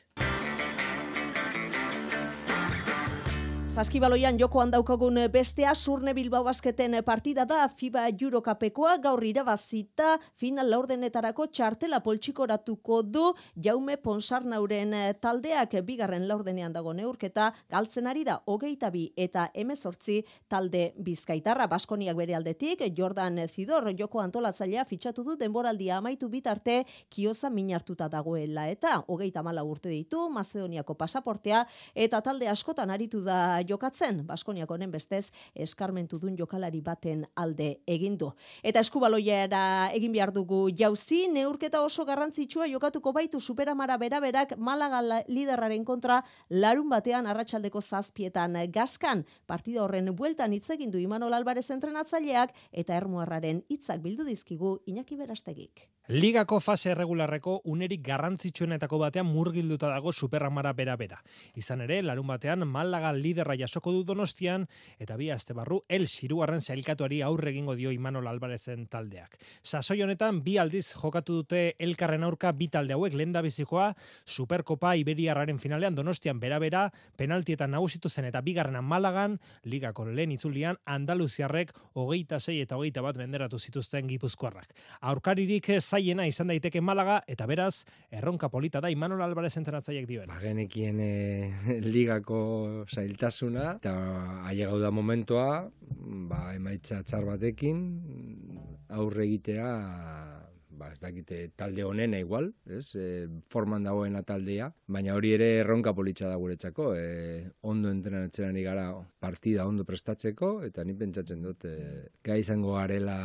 Saskibaloian jokoan daukagun bestea Surne Bilbao Basketen partida da FIBA Eurocupekoa, gaur irabazita final laurdenetarako txartela poltsikoratuko du Jaume Ponsarnauren taldeak, bigarren laurdenean dago neurketa, galtzen ari da hogeita bi eta hemezortzi talde bizkaitarra. Baskoniak bere aldetik, Jordan Zidor joko antolatzailea fitxatu du denboraldia amaitu bitarte Kioza min hartuta dagoela eta hogeita hamala urte ditu, Mazedoniako pasaportea eta talde askotan aritu da jokatzen, Baskoniak honen bestez eskarmentu dun jokalari baten alde egin du. Eta eskubaloiara egin behar dugu jauzi, neurketa oso garrantzitsua jokatuko baitu Superamara beraberak Malaga liderraren kontra larun batean arratsaldeko zazpietan Gaskan. Partida horren bueltan hitz egin du Imanol Alvarez entrenatzaileak eta Ermuarraren hitzak bildu dizkigu Iñaki Berastegik. Ligako fase erregularreko unerik garrantzitsuenetako batean murgilduta dago Superamara bera-bera. Izan ere, larun batean Malaga liderra jasoko du Donostian, eta bi aste barru El hirugarren sailkatuari aurre egingo dio Imanol Alvarezen taldeak. Sasoi honetan bi aldiz jokatu dute elkarren aurka bi talde hauek, lehendabizikoa Superkopa Iberiarraren finalean Donostian bera-bera, penaltietan nagusitu zen eta bigarrenan Malagan, ligako lehen itzulian Andaluziarrek hogeita sei eta hogeita bat menderatu zituzten gipuzkoarrak. Aurkaririk zaiena izan daiteke Malaga, eta beraz, erronka polita da Imanol Alvarez entrenatzaileak dioenaz. Genekien e, ligako zailtasuna, eta ailegau da momentua, ba, emaitza txar batekin, aurre egitea ba, ez dakite talde honena igual, ez, e, forman dagoena taldea, baina hori ere erronka politxa da guretzako, e, ondo entrenatzen ari gara partida ondo prestatzeko, eta ni pentsatzen dut, e, gai izango garela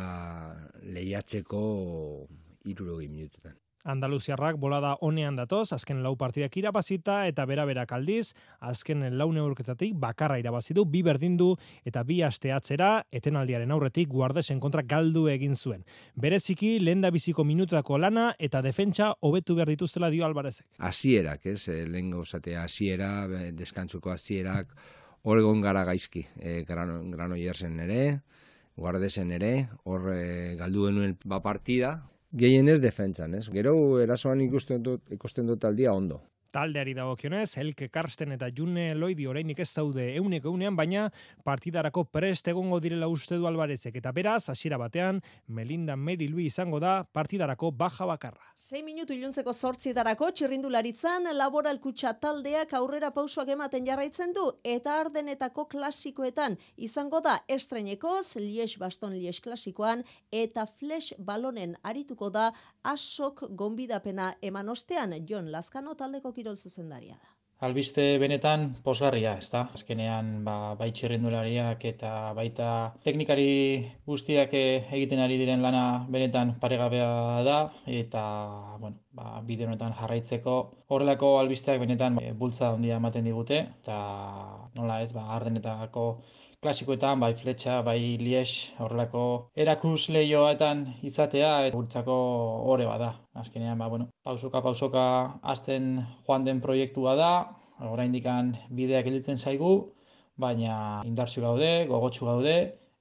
lehiatzeko hirurogei minututan. Andaluziarrak bolada honean datoz, azken lau partidak irabazita eta bera-berak aldiz, azken lau neurketatik bakarra irabazi du, bi berdin du eta bi aste atzera, etenaldiaren aurretik Guardesen kontra galdu egin zuen. Bereziki, lehendabiziko minutako lana eta defentsa hobetu behar dituztela dio Alvarezek. Hasierak, ez, lehen gauzatea hasiera, deskantzuko hasierak, hor egon gara gaizki, e, grano, grano jersen ere, Guardesen ere, hor e, galdu genuen ba partida, gehienez defentsan, ez? Gero erasoan ikusten dut, ikusten dut aldia ondo. Taldeari dagokionez, Elke Karsten eta June Loidi oraindik ez daude euneko eunean, baina partidarako prest egongo direla uste du Alvarezek. Eta beraz, hasiera batean, Melinda Mary Louis izango da partidarako baja bakarra. Sei minutu iluntzeko zortzietarako txirrindularitzan Laboralkutxa taldeak aurrera pausoak ematen jarraitzen du eta Ardenetako klasikoetan izango da estrenekoz, Liège-Bastogne-Liège klasikoan eta Flash balonen arituko da Asok gonbidapena eman ostean Jon Lazkano taldeko kirol zuzendaria da. Albiste benetan pozgarria, ezta? Azkenean ba, bai txirrindulariak eta baita teknikari guztiak egiten ari diren lana benetan paregabea da eta bueno, ba, bide honetan jarraitzeko horrelako albisteak benetan ba, bultza handia ematen digute eta nola ez, ba, Ardenetako klasikoetan, bai Fletxa, bai Liège, horrelako erakus lehioetan izatea, guretzako ore bada. Azkenean, ba, bueno, pausoka pausoka hasten joan den proiektua da, oraindikan bideak gelditzen zaigu, baina indartsu gaude, gogotsu gaude,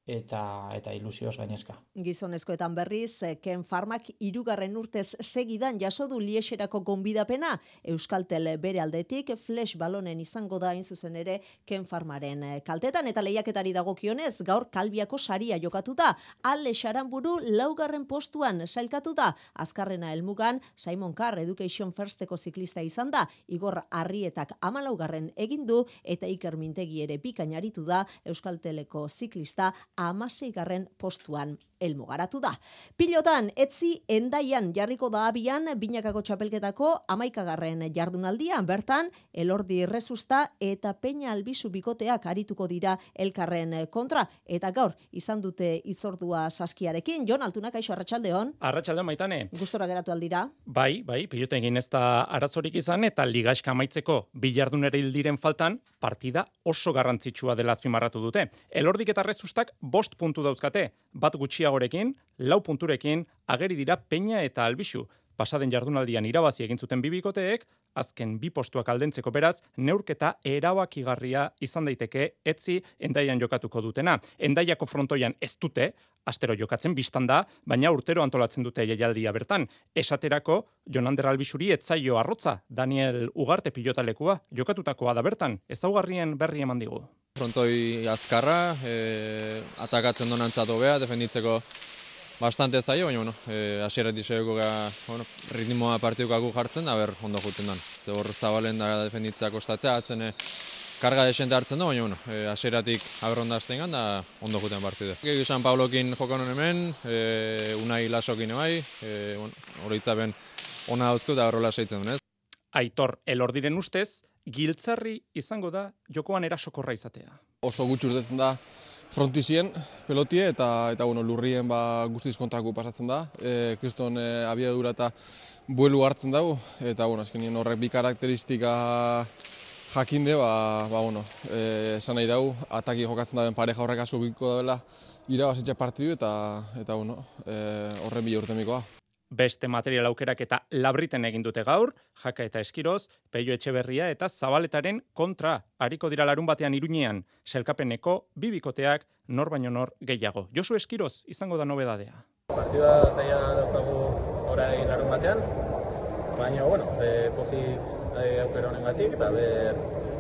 eta eta ilusioz gainezka. Gizonezkoetan berriz, Ken Farmak hirugarren urtez segidan jaso du Liexerako gonbidapena, Euskaltel bere aldetik Flash balonen izango da hain zuzen ere Ken Farmaren kaltetan eta lehiaketari dagokionez, gaur Kalbiako saria jokatu da, Ale Xaranburu laugarren postuan sailkatu da, azkarrena helmugan Simon Carr Education Firsteko ziklista izan da, Igor Arrietak hamalaugarren egin du eta Iker Mintegi ere bikain aritu da Euskalteleko ziklista hamaseigarren postuan helmugaratu da. Pilotan, etzi Endaian jarriko da abian binakako txapelketako hamaikagarren jardunaldian, bertan Elordi Rezusta eta Peña Albizu bikoteak arituko dira elkarren kontra, eta gaur izan dute itzordua saskiarekin. Jon Altuna, kaixo, arratsaldeon. Arratsaldeon, Maitane. Gustora geratu aldira? Bai, bai, piloten egin ez da arazorik izan eta ligaxka amaitzeko bi jardunera hildiren faltan partida oso garrantzitsua dela azpimarratu dute. Elordik eta Rezustak bost puntu dauzkate, bat gutxiagorekin, lau punturekin, ageri dira Peña eta Albizu. Pasaden jardunaldian irabazi egin zuten bi bikoteek, azken bi postuak aldentzeko beraz, neurketa erabakigarria izan daiteke etzi Endaian jokatuko dutena. Endaiako frontoian ez dute, astero jokatzen bistan da, baina urtero antolatzen dute jaialdia bertan. Esaterako, Jonander Albizuri etzaio arrotza, Daniel Ugarte pilotalekua, jokatutakoa da bertan, ezaugarrien berri eman digu. Frontoi azkarra, e, atakatzen donantzat hobea, defenditzeko bastante zaio, baina, bueno, e, asierat diseuko gara, bueno, ritmoa partidukaku jartzen, da ber, ondo juten dan. Ze hor zabalen da defenditzea kostatzea, atzen e, karga desente hartzen da, baina, bueno, e, asieratik aberronda azten gan, da ondo juten partidu. Gegi San Paulokin jokanon hemen, e, Unai Lasokin ebai, e, bueno, horitzapen ona dauzko da horrela seitzen duen, ez? Aitor Elordiren ustez, giltzarri izango da jokoan erasokorra izatea. Oso gutxi urtetzen da frontizien pelotie eta eta bueno, lurrien ba guztiz kontraku pasatzen da. Eh, kriston e, abiadura eta buelu hartzen dago eta bueno, azkenien horrek bi karakteristika jakinde ba ba bueno, eh esan nahi dau ataki jokatzen daben pareja horrek asko biko dela irabazitza partidu eta eta bueno, eh horren bi urtemikoa. Beste material aukerak eta labriten egin dute gaur, Jaka eta Eskiroz, Peio Etxeberria eta Zabaletaren kontra. Ariko dira larun batean Iruñean, selkapeneko bi bikoteak nor baino nor gehiago. Josu Eskiroz izango da nobedadea. Partida zaila daukagu orain larun batean, baina, bueno, e, pozik e, aukera honengatik, eta ber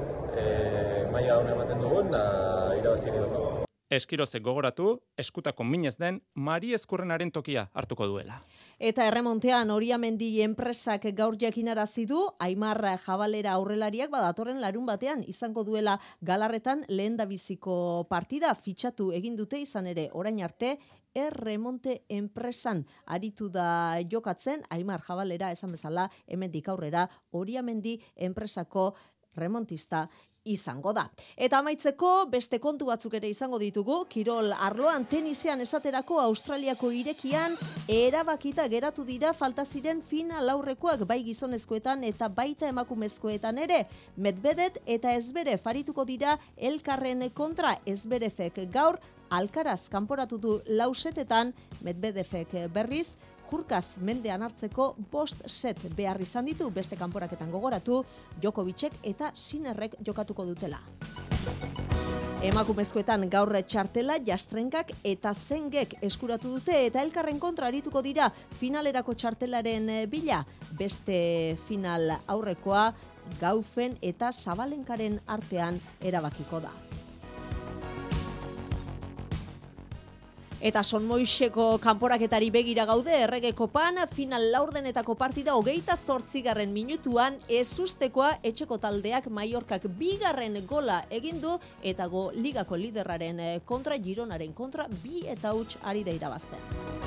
e, maila honen ematen dugun, da irabaztiri daukagu. Eskirozek gogoratu, eskutako minez den Mari Ezkurrenaren tokia hartuko duela. Eta erremontean Oriamendi enpresak gaur jakinarazi du, Aimar Jabalera aurrelariak badatorren larun batean izango duela Galarretan lehendabiziko partida fitxatu egin dute izan ere orain arte Erremonte enpresan aritu da jokatzen, Aimar Jabalera esan bezala, hemendik aurrera Oriamendi enpresako remontista izango da. Eta amaitzeko beste kontu batzuk ere izango ditugu, kirol arloan tenisean esaterako Australiako irekian erabakita geratu dira falta ziren final aurrekoak bai gizonezkoetan eta baita emakumezkoetan ere. Medvedev eta Zverev arituko dira elkarren kontra. Zverevek gaur Alcaraz kanporatu du lausetetan, Medvedevek berriz Jurkaz mendean hartzeko bost set behar izan ditu, beste kanporaketan gogoratu, Djokovicek eta Sinnerrek jokatuko dutela. Emakumezkoetan gaur txartela Jastrenkak eta Zengek eskuratu dute eta elkarren kontra arituko dira finalerako txartelaren bila. Beste final aurrekoa Gaufen eta Sabalenkaren artean erabakiko da. Eta Sonmoixeko kanporaketari begira gaude, Errege Kopan final laurdenetako partida hogeita zortzigarren minutuan ezustekoa etxeko taldeak Mallorcak bigarren gola egin du eta go ligako liderraren kontra, Gironaren kontra, bi eta huts ari da irabazten.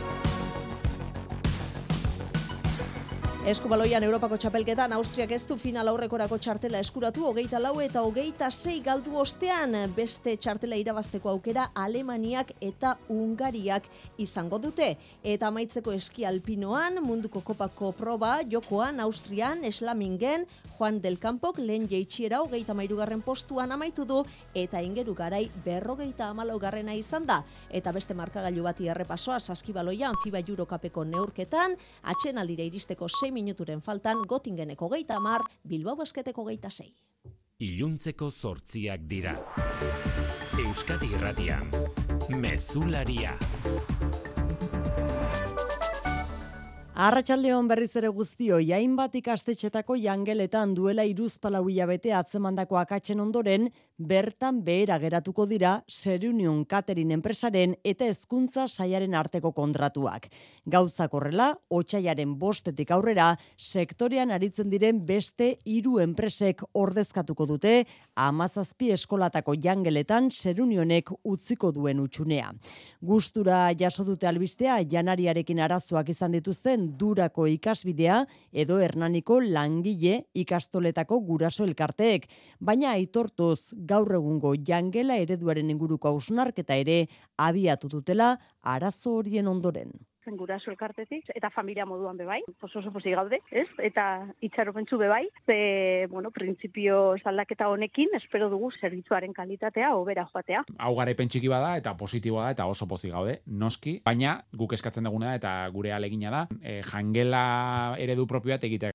Eskubaloian Europako txapelketan Austriak ez du final aurrekorako txartela eskuratu, hogeita lau eta hogeita sei galdu ostean, beste txartela irabazteko aukera Alemaniak eta Hungariak izango dute. Eta amaitzeko eski alpinoan, munduko kopako proba, jokoan Austrian, Eslamingen, Juan del Campok lehen jeitxiera hogeita mairugarren postuan amaitu du, eta Ingeru Garai berrogeita hamalaugarrena izan da. Eta beste markagailu bati errepasoa saskibaloian FIBA Eurocupeko neurketan, atxenaldira iristeko sei minuturen faltan, Gotingeneko hogeita hamar, Bilbao Basketeko hogeita sei. Iluntzeko zortziak dira. Euskadi Irratian, Mezularia. Arratsaldeon berriz ere guztioi, hainbat ikastetxetako jangeletan duela hiruzpalau hilabete atzemandako akatzen ondoren, bertan behera geratuko dira Serunion Catering enpresaren eta hezkuntza sailaren arteko kontratuak. Gauzak horrela, otsailaren bostetik aurrera, sektorean aritzen diren beste hiru enpresek ordezkatuko dute, hamazazpi eskolatako jangeletan Serunionek utziko duen utxunea. Gustura jaso dute albistea, janariarekin arazoak izan dituzten Durako ikasbidea edo Hernaniko langile ikastoletako guraso elkarteek, baina aitortuz gaur egungo jangela ereduaren inguruko hausnarketa ere abiatu dutela arazo horien ondoren. Guraso elkartetik eta familia moduan bebai, oso oso pozik gaude, ez? Eta itxaropentsu bebai, ze, bueno, printzipio aldaketa honekin espero dugu zerbitzuaren kalitatea hobera joatea. Hau garaipen txiki bada eta positiboa da eta oso pozik gaude, noski, baina guk eskatzen duguna da eta gure ahalegina da, e, jangela eredu propioa egitea.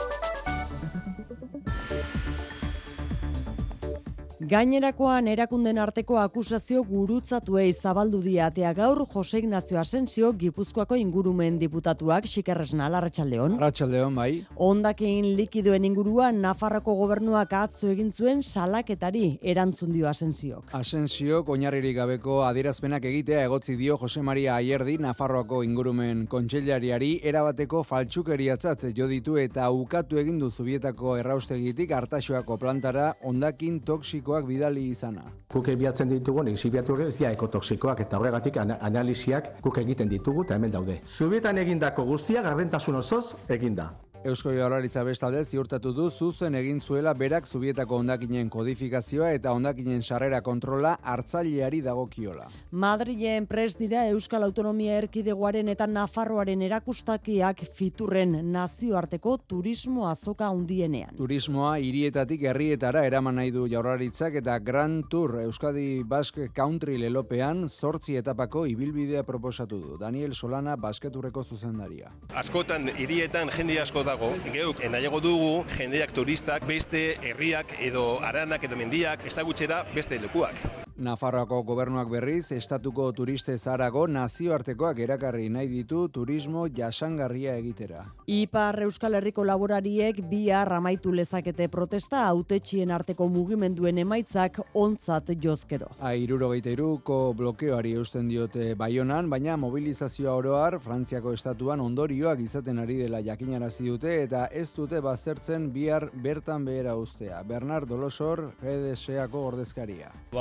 Gainerakoan erakunden arteko akusazio gurutzatuei zabaldu diatea gaur Jose Ignacio Asensio Gipuzkoako ingurumen diputatuak Xikerresna Arratsaldeon. Arratsaldeon bai. Hondakin likidoen inguruan Nafarroko gobernuak atzo egin zuen salaketari erantzun dio Asensiok. Asensiok oinarririk gabeko adierazpenak egitea egotzi dio Jose Maria Ayerdi Nafarroako ingurumen kontseilariari erabateko faltsukeriatzat jo ditu eta ukatu egin du Zubietako erraustegitik Artaxoako plantara hondakin toksikoak bidali izana. Guk ebiatzen ditugu, egizibiatuak ez dira ekotoksikoak eta horregatik analiziak guk egiten ditugu eta hemen daude. Zubietan egindako guztia gardentasun osoz eginda. Eusko Jaurlaritza bestalde ziurtatu du zuzen egin zuela berak Zubietako hondakinen kodifikazioa eta hondakinen sarrera kontrola hartzaileari dagokiola. Madrilen prest dira Euskal Autonomia Erkidegoaren eta Nafarroaren erakustakiak Fiturren nazioarteko turismo azoka handienean. Turismoa hirietatik herrietara eraman nahi du Jaurlaritzak eta Grand Tour Euskadi Basque Country lelopean zortzi etapako ibilbidea proposatu du. Daniel Solana basketurreko zuzendaria. Askotan hirietan jende asko dago, geuk nahiago dugu jendeak turistak beste herriak edo aranak edo mendiak ezagutxera beste lekuak. Nafarroako gobernuak berriz, estatuko turiste zarago nazioartekoak erakarri nahi ditu turismo jasangarria egitera. Ipar Euskal Herriko laborariek bihar amaitu lezakete protesta hautetxien arteko mugimenduen emaitzak ontzat jozkero. Hirurogeita hiruko blokeoari eusten diote Baionan, baina mobilizazioa oroar Frantziako estatuan ondorioak izaten ari dela jakinarazi dute eta ez dute baztertzen bihar bertan behera uztea. Bernard Dolosor, G D S-ako ordezkaria. Badugu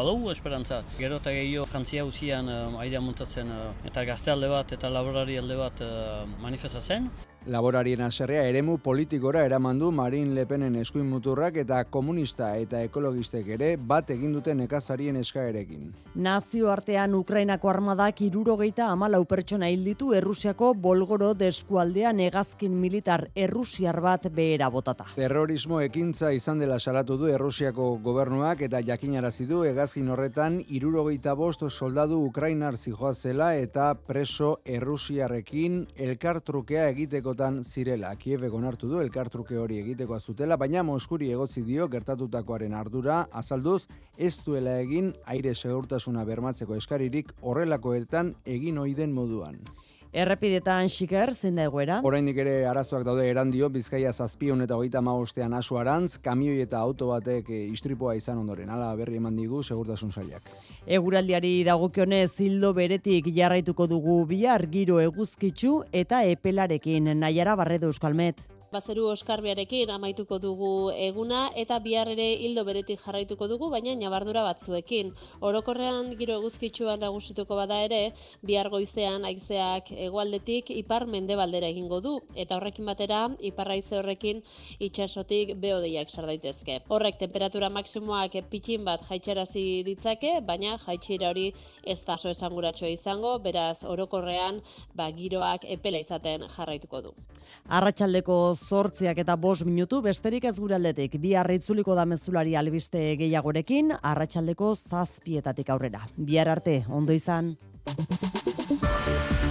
esperantza. Gero eta gehiago Frantzia usian uh, aidea muntatzen uh, eta gazte alde bat eta laborari alde bat uh, manifestatzen. Laborarien haserrea eremu politikora eraman du Marine Le Penen eskuin muturrak eta komunista eta ekologistek ere bat egin duten nekazarien eskaerekin. Nazioartean Ukrainako armadak hirurogeita hamalau pertsona hil ditu Errusiako Bolgorod eskualdean hegazkin militar errusiar bat behera botata. Terrorismo ekintza izan dela salatu du Errusiako gobernuak eta jakinarazi du hegazkin horretan hirurogeita bost soldadu ukrainar zihoazela eta preso errusiarrekin elkartrukea egiteko zirela. Kievek onartu du elkartruke hori egiteko zutela, baina Moskuri egotzi dio gertatutakoaren ardura azalduz ez duela egin aire segurtasuna bermatzeko eskaririk horrelakoetan egin ohi den moduan. Errepidetan xiker, zein da egoera? Oraindik ere arazoak daude Erandio, Bizkaia zazpiehun eta hogeita hamabostean Asoarantz, kamioi eta auto batek istripua izan ondoren. Hala berri eman digu segurtasun sailak. Eguraldiari dagokionez ildo beretik jarraituko dugu bihar giro eguzkitsu eta epelarekin. Naiara Barredo, Euskalmet. Bazeru oskarbiarekin amaituko dugu eguna eta bihar ere hildo beretik jarraituko dugu, baina nabardura batzuekin. Orokorrean giro eguzkitsuan nagusituko bada ere, bihar goizean haizeak hegoaldetik ipar mendebaldera egingo du eta horrekin batera ipar haize horrekin itsasotik behodeiak sar daitezke. Horrek temperatura maksimoak pitxin bat jaitsarazi ditzake, baina jaitsiera hori ez da oso esanguratsua izango, beraz orokorrean ba giroak epela izaten jarraituko du. Arratsaldeko zortziak eta bost minutu, besterik ez gure aldetik. Bihar itzuliko da mezulari albiste gehiagorekin, arratsaldeko zazpietatik aurrera. Bihar arte, ondo izan.